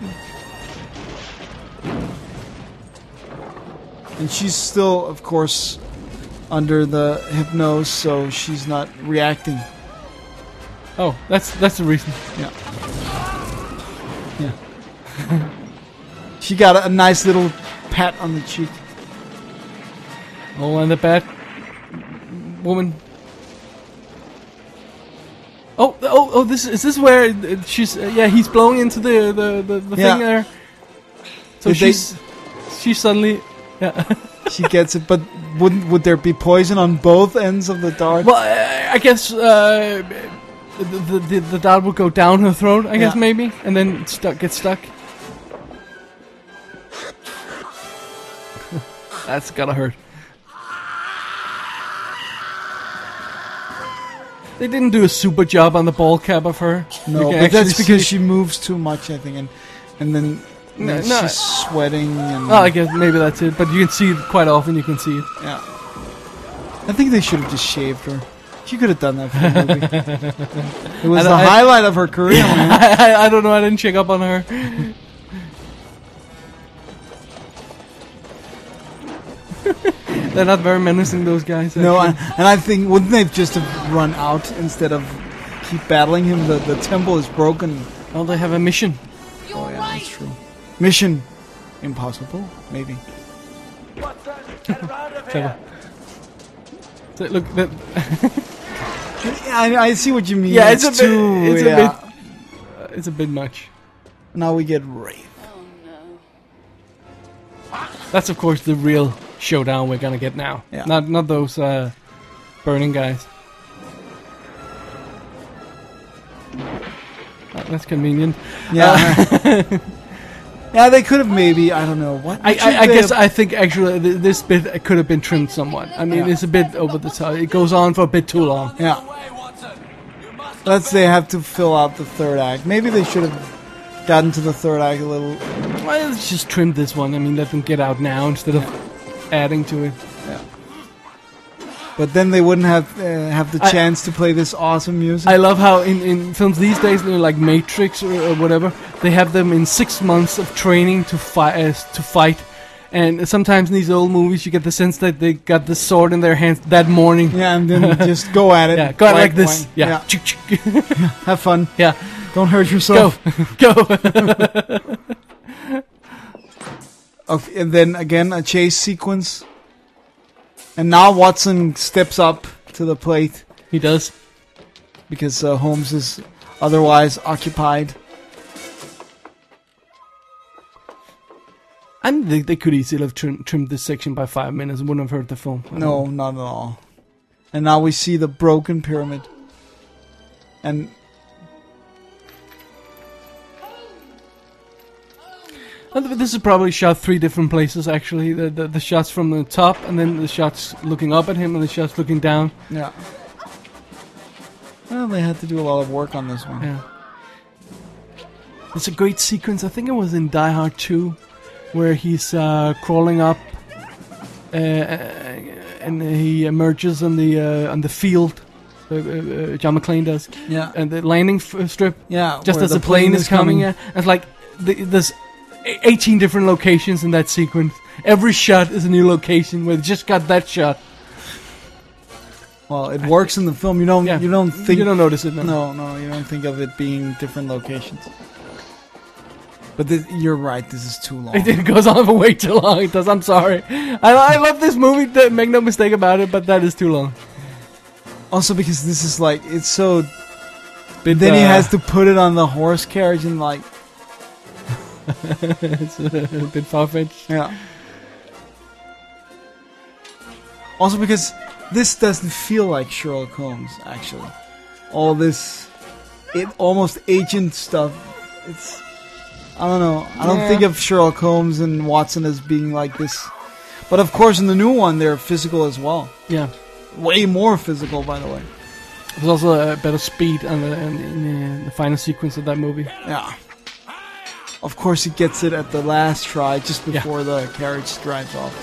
And she's still, of course, under the hypnose, so she's not reacting. Oh, that's the reason. Yeah. She got a nice little pat on the cheek. Oh, and the bad woman. Oh! Is this where she's? He's blowing into the thing there. So Did she's suddenly, she gets it, but would there be poison on both ends of the dart? Well, I guess the dart would go down her throat. I guess Yeah. maybe, and then get stuck. That's gotta hurt. They didn't do a super job on the ball cap of her. No, You can but that's actually because see- she moves too much, I think, and then No. she's sweating. And Oh, I guess maybe that's it. But you can see it quite often. You can see it. yeah, I think they should have just shaved her. She could have done that for the movie. It was the highlight of her career, man. I don't know. I didn't check up on her. They're not very menacing, those guys. No, actually. and I think wouldn't they just have run out instead of keep battling him? The temple is broken. Well, they have a mission. Oh yeah, that's true. Mission impossible, maybe. Clever. So, look, that, Yeah, I see what you mean. yeah, it's a bit. too. It's yeah. a bit. It's a bit much. Now we get Wraith. That's of course the real showdown we're gonna get now. Yeah. Not those burning guys. That's convenient. Yeah. Yeah, they could have maybe. I don't know what. I think actually this bit could have been trimmed somewhat. I mean, Yeah. it's a bit over the top. It goes on for a bit too long. Yeah. They have to fill out the third act. Maybe they should have gotten to the third act a little. Well, let's just trim this one. I mean, let them get out now instead of adding to it. But then they wouldn't have the chance to play this awesome music. I love how in films these days, like Matrix or whatever, they have them in 6 months of training to fight. And sometimes in these old movies, you get the sense that they got the sword in their hands that morning. Yeah, and then just go at it. Yeah, go at it like this. Wang. Yeah. Have fun. Yeah. Don't hurt yourself. Go. Okay, and then again a chase sequence. And now Watson steps up to the plate He does. because Holmes is otherwise occupied. And they could easily have trimmed this section by 5 minutes and wouldn't have hurt the film. No, not at all. And now we see the broken pyramid. And This is probably shot 3 different places, actually. The shots from the top, and then the shots looking up at him, and the shots looking down. yeah. Well, they had to do a lot of work on this one. Yeah. It's a great sequence. I think it was in Die Hard 2, where he's crawling up, and he emerges on the field. John McClane does. Yeah. And the landing strip. Yeah. Just where as the plane is coming. in. It's like there's 18 different locations in that sequence. Every shot is a new location where they just got that shot. Well, it works in the film. You don't. Yeah. You don't think. You don't notice it. No, you don't think of it being different locations. But you're right. This is too long. It goes on for way too long. It does. I'm sorry. I love this movie. Make no mistake about it. But that is too long. Also, because this is like it's so. Bit, Then he has to put it on the horse carriage and like. It's a bit far-fetched. Yeah. Also, because this doesn't feel like Sherlock Holmes. Actually, all this, almost agent stuff. It's. I don't know. I don't think of Sherlock Holmes and Watson as being like this. But of course, in the new one, they're physical as well. Yeah. way more physical, by the way. There's also a better speed in the final sequence of that movie. Yeah. Of course, he gets it at the last try, just before the carriage drives off.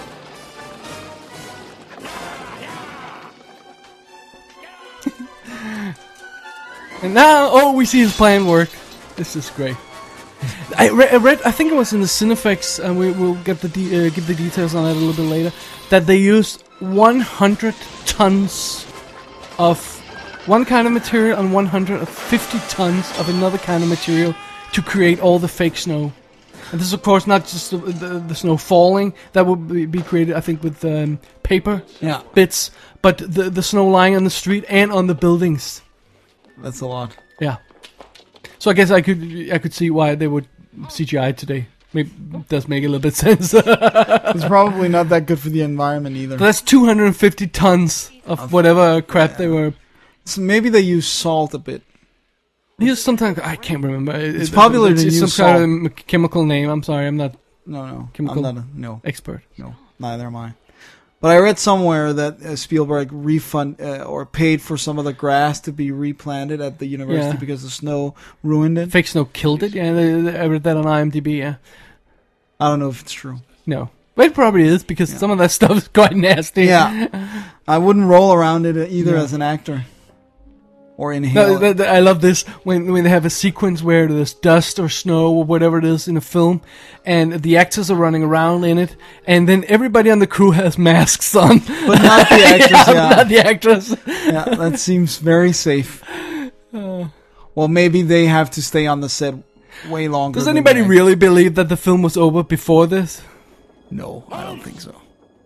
And now, we see his plan work. This is great. I read, I think it was in the Cinefex, and we'll get give the details on it a little bit later, that they used 100 tons of one kind of material and 150 tons of another kind of material to create all the fake snow. And this is, of course, not just the snow falling. That would be created, I think, with paper bits, but the snow lying on the street and on the buildings. That's a lot. Yeah. So I guess I could see why they would CGI today. Maybe it does make a little bit sense. It's probably not that good for the environment either. But that's 250 tons of whatever crap they were. So maybe they use salt a bit. Sometimes I can't remember. It's popular to use some salt. kind of chemical name. I'm sorry, I'm not. No. Chemical I'm not expert. No, neither am I. But I read somewhere that Spielberg or paid for some of the grass to be replanted at the university because the snow ruined it. Fake snow killed it. Yeah, I read that on IMDb. Yeah. I don't know if it's true. No, but it probably is because some of that stuff is quite nasty. Yeah, I wouldn't roll around it either as an actor. Or inhale. I love this when they have a sequence where there's dust or snow or whatever it is in a film, and the actors are running around in it, and then everybody on the crew has masks on, but not the actors. Not the actors. Yeah, that seems very safe. Well, maybe they have to stay on the set way longer. Does anybody really believe that the film was over before this? No, I don't think so.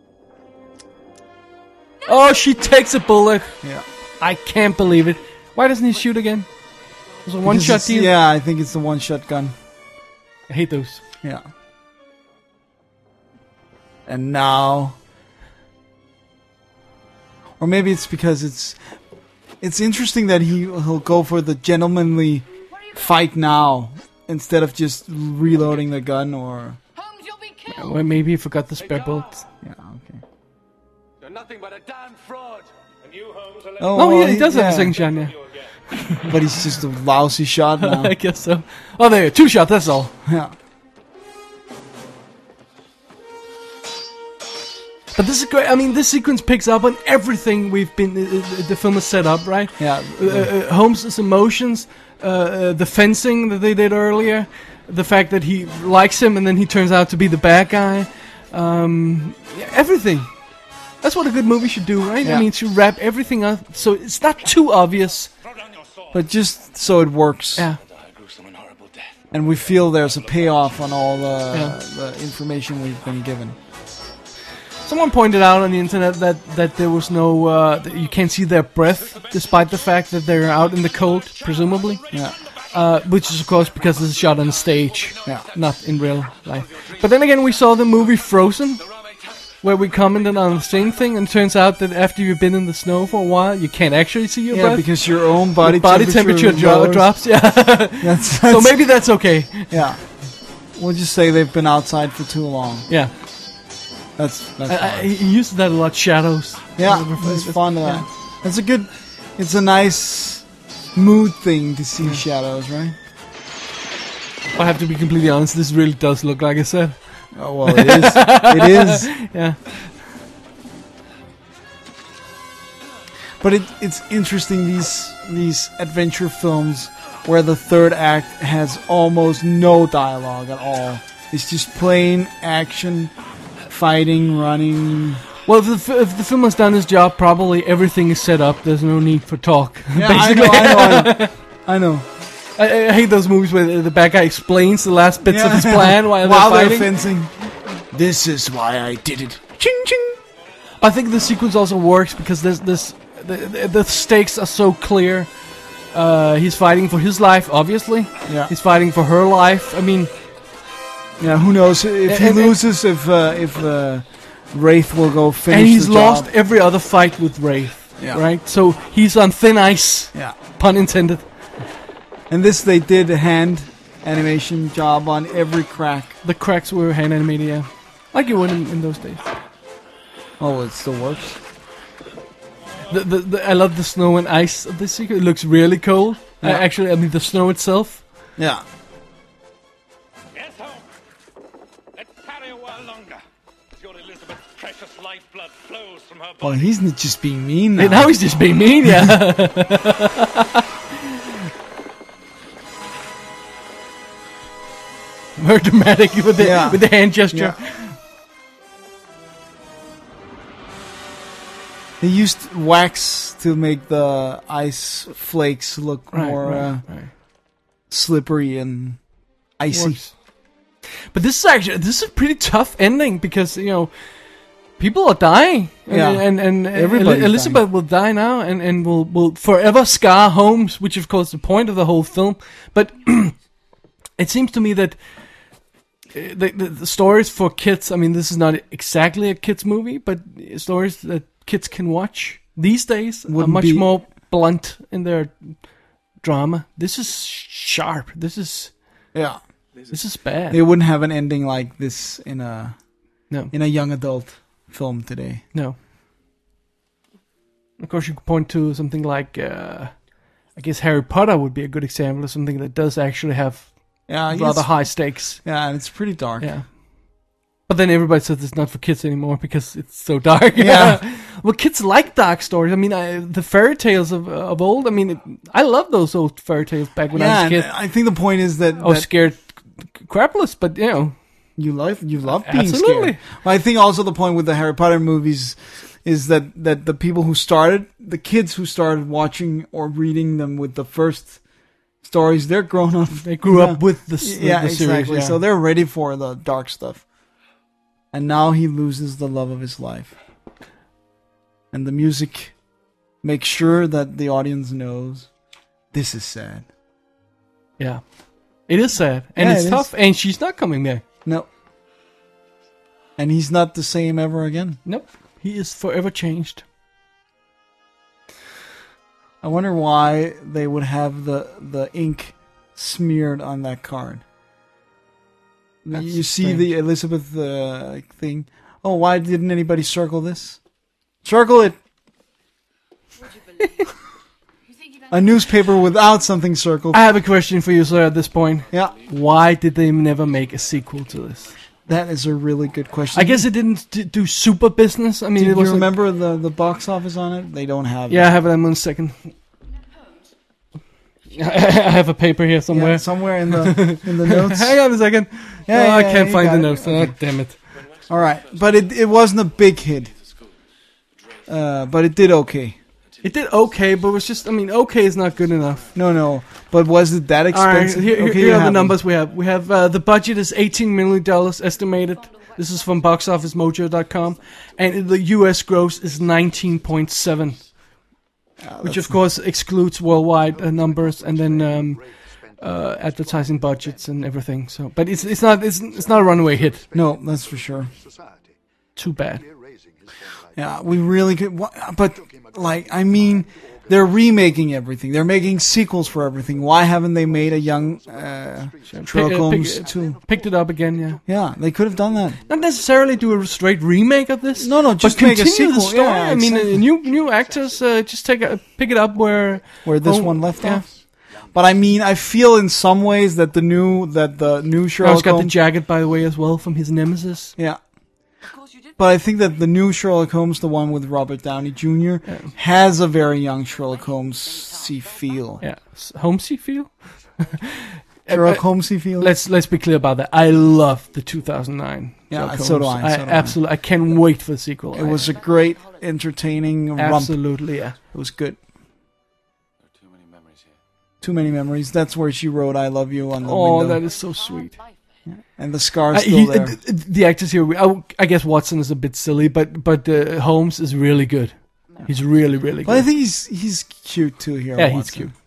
Oh, she takes a bullet. Yeah, I can't believe it. Why doesn't he shoot again? It was a one-shot deal? Yeah, I think it's the one-shot gun. I hate those. Yeah. And now... Or maybe it's because it's interesting that he'll go for the gentlemanly fight now instead of just reloading the gun or... Holmes, you'll be killed! Well, maybe he forgot the spare bullets. Yeah, okay. You're nothing but a damn fraud. And you, Holmes, are Oh, No, well, he does have a second shot, yeah. But he's just a lousy shot now. I guess so. Oh, there, 2 shots, that's all. Yeah. But this is great. I mean, this sequence picks up on everything we've been... the film is set up, right? Yeah. Holmes' emotions, the fencing that they did earlier, the fact that he likes him and then he turns out to be the bad guy. Everything. That's what a good movie should do, right? Yeah. I mean, to wrap everything up so it's not too obvious. But just so it works. Yeah. And we feel there's a payoff on all the information we've been given. Someone pointed out on the internet that there was no... that you can't see their breath, despite the fact that they're out in the cold, presumably. Yeah. Which is, of course, because this is shot on stage, Yeah. not in real life. But then again, we saw the movie Frozen, where we commented on the same thing, and it turns out that after you've been in the snow for a while, you can't actually see your breath. Because your own body temperature lowers. drops, yeah. That's So maybe that's okay. Yeah. We'll just say they've been outside for too long. Yeah. That's fine. He uses that a lot, shadows. Yeah, it's fun. That's a good... It's a nice mood thing to see shadows, right? I have to be completely honest, this really does look like I said. Oh, well, it is. It is. Yeah. But it's interesting, these adventure films where the third act has almost no dialogue at all. It's just plain action, fighting, running. Well, if the film has done its job, probably everything is set up. There's no need for talk. Yeah, basically. I know. I hate those movies where the bad guy explains the last bits of his plan while they're fighting. fencing. This is why I did it. Ching ching. I think the sequence also works because the stakes are so clear. He's fighting for his life, obviously. Yeah. He's fighting for her life. I mean, yeah. Who knows if he loses? If Wraith will go finish. And he's the lost job. every other fight with Wraith. Yeah. Right. So he's on thin ice. Yeah. Pun intended. And this they did a hand animation job on every crack. The cracks were hand animated, yeah. Like you would in those days. Oh, it still works. I love the snow and ice of this sequence. It looks really cold. Yeah. Actually, I mean the snow itself. Yeah. Yes, home. Let's tarry a while longer. Your Elizabeth's precious lifeblood flows from her Well, body. he's not just being mean now. And now he's just being mean, yeah. More dramatic with the hand gesture. Yeah. They used wax to make the ice flakes look more slippery and icy. Works. But this is a pretty tough ending because people are dying. And Everybody's Elizabeth will die now and will forever scar Holmes, which of course is the point of the whole film. But it seems to me that the stories for kids, I mean, this is not exactly a kids movie, but stories that kids can watch these days are much more blunt in their drama. This is sharp. This is bad. They wouldn't have an ending like this in a No. young adult film today. No. Of course, you could point to something like, I guess Harry Potter would be a good example of something that does actually have rather high stakes. Yeah, and it's pretty dark. Yeah. But then everybody says it's not for kids anymore because it's so dark. Yeah. Well, kids like dark stories. I mean, the fairy tales of old. I mean, I love those old fairy tales back when I was a kid. I think the point is that I was scared crapless, but you love being Absolutely. scared. Well, I think also the point with the Harry Potter movies is that the people who started, the kids who started watching or reading them with the first stories, they're grown up. They grew up with the series. Exactly. Yeah. So they're ready for the dark stuff. And now he loses the love of his life. And the music makes sure that the audience knows this is sad. Yeah. It is sad. And Yeah, it's it tough. is. And she's not coming back. No. And he's not the same ever again. Nope. He is forever changed. I wonder why they would have the ink smeared on that card. That's you see strange. the Elizabeth thing. Oh, why didn't anybody circle this? Circle it! A newspaper without something circled. I have a question for you, sir, at this point. Yeah, Why did they never make a sequel to this? that is a really good question. I guess it didn't do super business. I mean, Do it was you remember the box office on it? They don't have Yeah, I it. have it in 1 second. I have a paper here somewhere. Yeah, somewhere in the notes. Hang on a second. Yeah, I yeah, can't you find got the it. notes. Okay. Oh, damn it. All right, but it wasn't a big hit. But it did okay. It did okay, but it was just, I mean, okay is not good enough. No. But was it that All right, expensive? here you are the have numbers we have. We have the budget is $18 million estimated. This is from boxofficemojo.com. And the US gross is 19.7. Which of course excludes worldwide numbers and then advertising budgets and everything. So, but it's not a runaway hit. No, that's for sure. Society. Too bad. Erasing his former life. Yeah, we really could. But like, I mean, they're remaking everything. They're making sequels for everything. Why haven't they made a young Sherlock Holmes too? Picked it up again. Yeah. Yeah, they could have done that. Not necessarily do a straight remake of this. No, just but make a continue the sequel. story. Yeah, I mean, exactly. new actors just pick it up where This one left yeah. off. But I mean, I feel in some ways that the new He's Sherlock got the Holmes. jacket, by the way, as well from his nemesis. Yeah. But I think that the new Sherlock Holmes, the one with Robert Downey Jr., has a very young Sherlock Holmes-y feel. Yeah, Holmesy feel. Sherlock Holmes-y feel. Let's be clear about that. I love the 2009. Yeah, Sherlock so do Holmes. I, so do I. Absolutely. I can't wait for the sequel. It was a great, entertaining romp. absolutely yeah. It was good. There are too many memories here. Too many memories. That's where she wrote "I love you" on the Oh, window, that is so sweet. and the scar's still there. The actors here, I guess Watson is a bit silly, but Holmes is really good. He's really, really good. But I think he's cute too here. yeah, he's Watson. cute.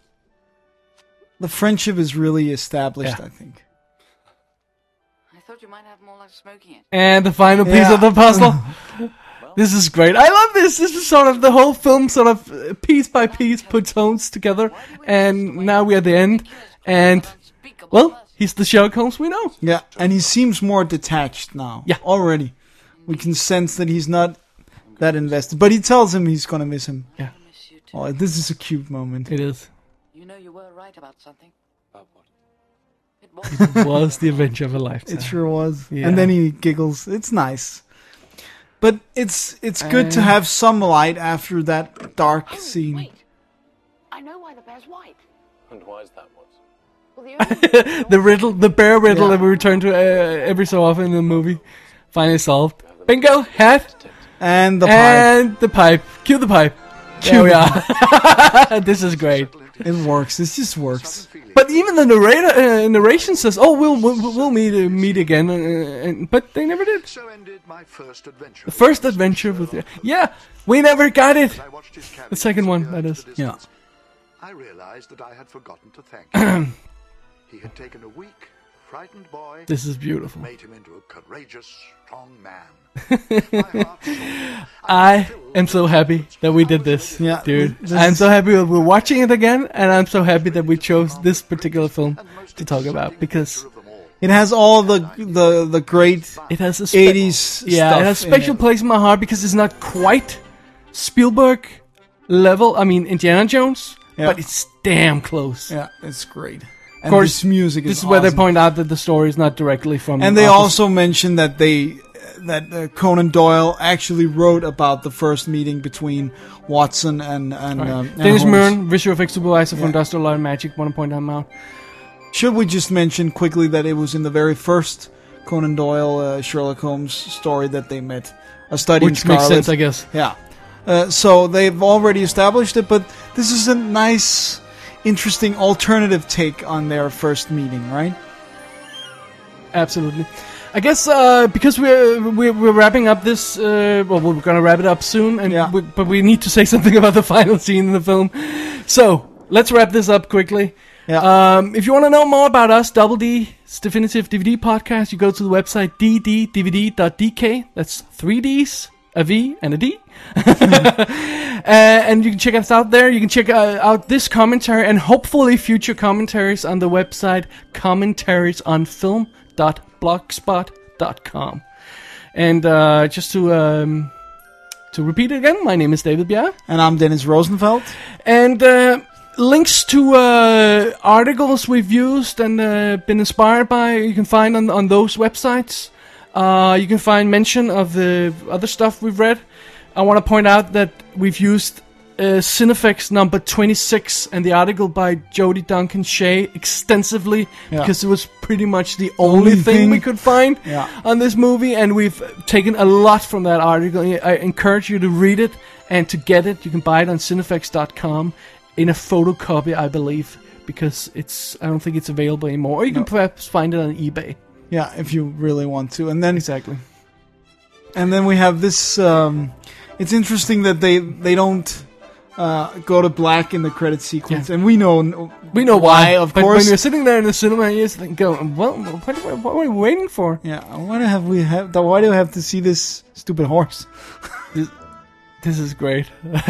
The friendship is really established. Yeah. I think. I thought you might have more like smoking it. And the final piece Yeah. of the puzzle. This is great. I love this. This is sort of the whole film, sort of piece by piece, puts Holmes together, and now we're at the end. And well, he's the Sherlock Holmes we know. Yeah, and he seems more detached now. Yeah. already. We can sense that he's not that invested. But he tells him he's gonna miss him. Yeah, Miss you too. Oh, this is a cute moment. it is. You know you were right about something. About what? It was. Was the adventure of a lifetime. It sure was. Yeah. And then he giggles. It's nice. But it's good to have some light after that dark scene. Wait. I know why the bear's white. And why is that what? Well, the only The bear riddle Yeah. that we return to every so often in the movie. Finally solved. Bingo, hat, And the pipe. and the pipe. Cue the pipe. There we are. This is great. It works. This just works. But even the narration says, "Oh, we'll meet again," but they never did. So ended my first adventure. The first adventure with we never got it. I watched his cabin The second one, disappear that into is. the Yeah. distance. I realized that I had forgotten to thank him. He had taken a weak, frightened boy, This is beautiful. made him into a courageous, strong man. My heart soared. I am so happy that we did this, Yeah, dude. this I'm is- so happy that we're watching it again, and I'm so happy that we chose this particular film And most to talk about exciting because adventure of them all. It has all the great it has a 80s yeah, stuff it has a in special it. place in my heart because it's not quite Spielberg level. I mean, Indiana Jones, Yeah. but it's damn close. Yeah, it's great. And Of course, this music is This is where they awesome. point out that the story is not directly from. And they Arthur- also mention that Conan Doyle actually wrote about the first meeting between Watson and and Dennis Holmes. Muren, visual effects supervisor for Yeah. Industrial Light and Magic. Want to point that out? Should we just mention quickly that it was in the very first Conan Doyle Sherlock Holmes story that they met, A Study in Which makes Scarlet. sense, I guess. Yeah. So they've already established it, but this is a nice, interesting alternative take on their first meeting, right? Absolutely. I guess because we're wrapping up this. Well, we're gonna wrap it up soon, and Yeah. but we need to say something about the final scene in the film. So let's wrap this up quickly. Yeah. If you want to know more about us, Double D's Definitive DVD Podcast, you go to the website dddvd.dk. That's 3 D's, a V, and a D. And you can check us out there. You can check out this commentary and hopefully future commentaries on the website commentariesonfilm.blogspot.com. And just to repeat it again, my name is David Bjerre. And I'm Dennis Rosenfeld. And links to articles we've used and been inspired by, you can find on those websites. You can find mention of the other stuff we've read. I want to point out that we've used Cinefex number 26 and the article by Jodie Duncan Shea extensively because it was pretty much the only thing we could find on this movie, and we've taken a lot from that article. I encourage you to read it and to get it. You can buy it on Cinefex.com in a photocopy, I believe, because I don't think it's available anymore. Or you can perhaps find it on eBay. Yeah, if you really want to. And then Exactly. And then we have this. It's interesting that they don't go to black in the credit sequence, and we know why, of but course. when you're sitting there in the cinema, you're just going, well, what are we waiting for? Yeah, why do we have to see this stupid horse? This is great.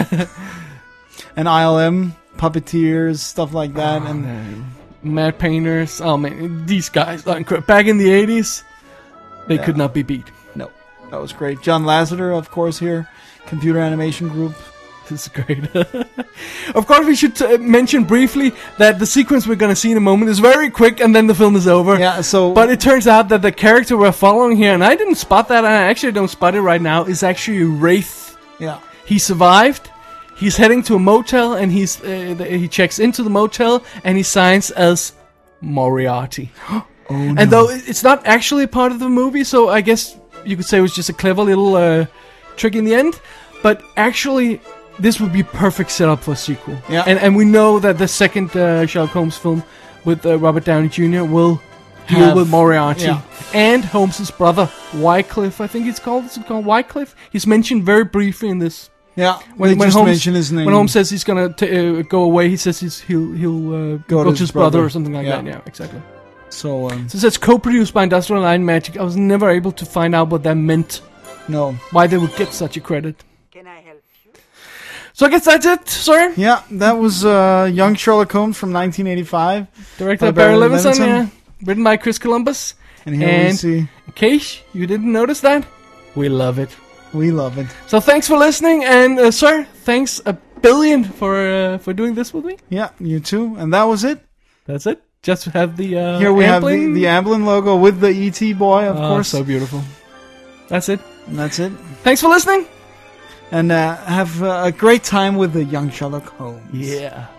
And ILM puppeteers, stuff like that, and Matte painters. Oh man, these guys are incredible. Back in the 80s, they could not be beat. no, that was great. John Lasseter, of course, here, Computer Animation Group. This is great. Of course, we should mention briefly that the sequence we're going to see in a moment is very quick, and then the film is over. Yeah, so But it turns out that the character we're following here, and I didn't spot that, and I actually don't spot it right now, is actually Wraith. yeah, He survived. He's heading to a motel, and he checks into the motel, and he signs as Moriarty. And though it's not actually a part of the movie, so I guess you could say it was just a clever little trick in the end. But actually, this would be perfect setup for a sequel. Yeah. And we know that the second Sherlock Holmes film with Robert Downey Jr. will deal Have- with Moriarty. yeah. And Holmes' brother, Wycliffe, I think it's called. Is it called Wycliffe? He's mentioned very briefly in this. yeah. When they just Holmes mention his name. When Holmes says he's gonna go away, he says he'll go to his brother or something like that. Yeah, exactly. so So it says co-produced by Industrial Light and Magic. I was never able to find out what that meant. no, Why they would get such a credit. Can I help you? So I guess that's it, sir. yeah, that was Young Sherlock Holmes from 1985, Directed By by Barry Barry Levinson, Levinson. yeah. Written by Chris Columbus. and here we And- see. In case you didn't notice that, we love it. We love it. So thanks for listening, and sir, thanks a billion for doing this with me. Yeah, you too. And that was it. That's it. Just have the here we Amblin. have the Amblin logo with the ET boy, of course. So beautiful. That's it. And that's it. Thanks for listening. And have a great time with the young Sherlock Holmes. Yeah.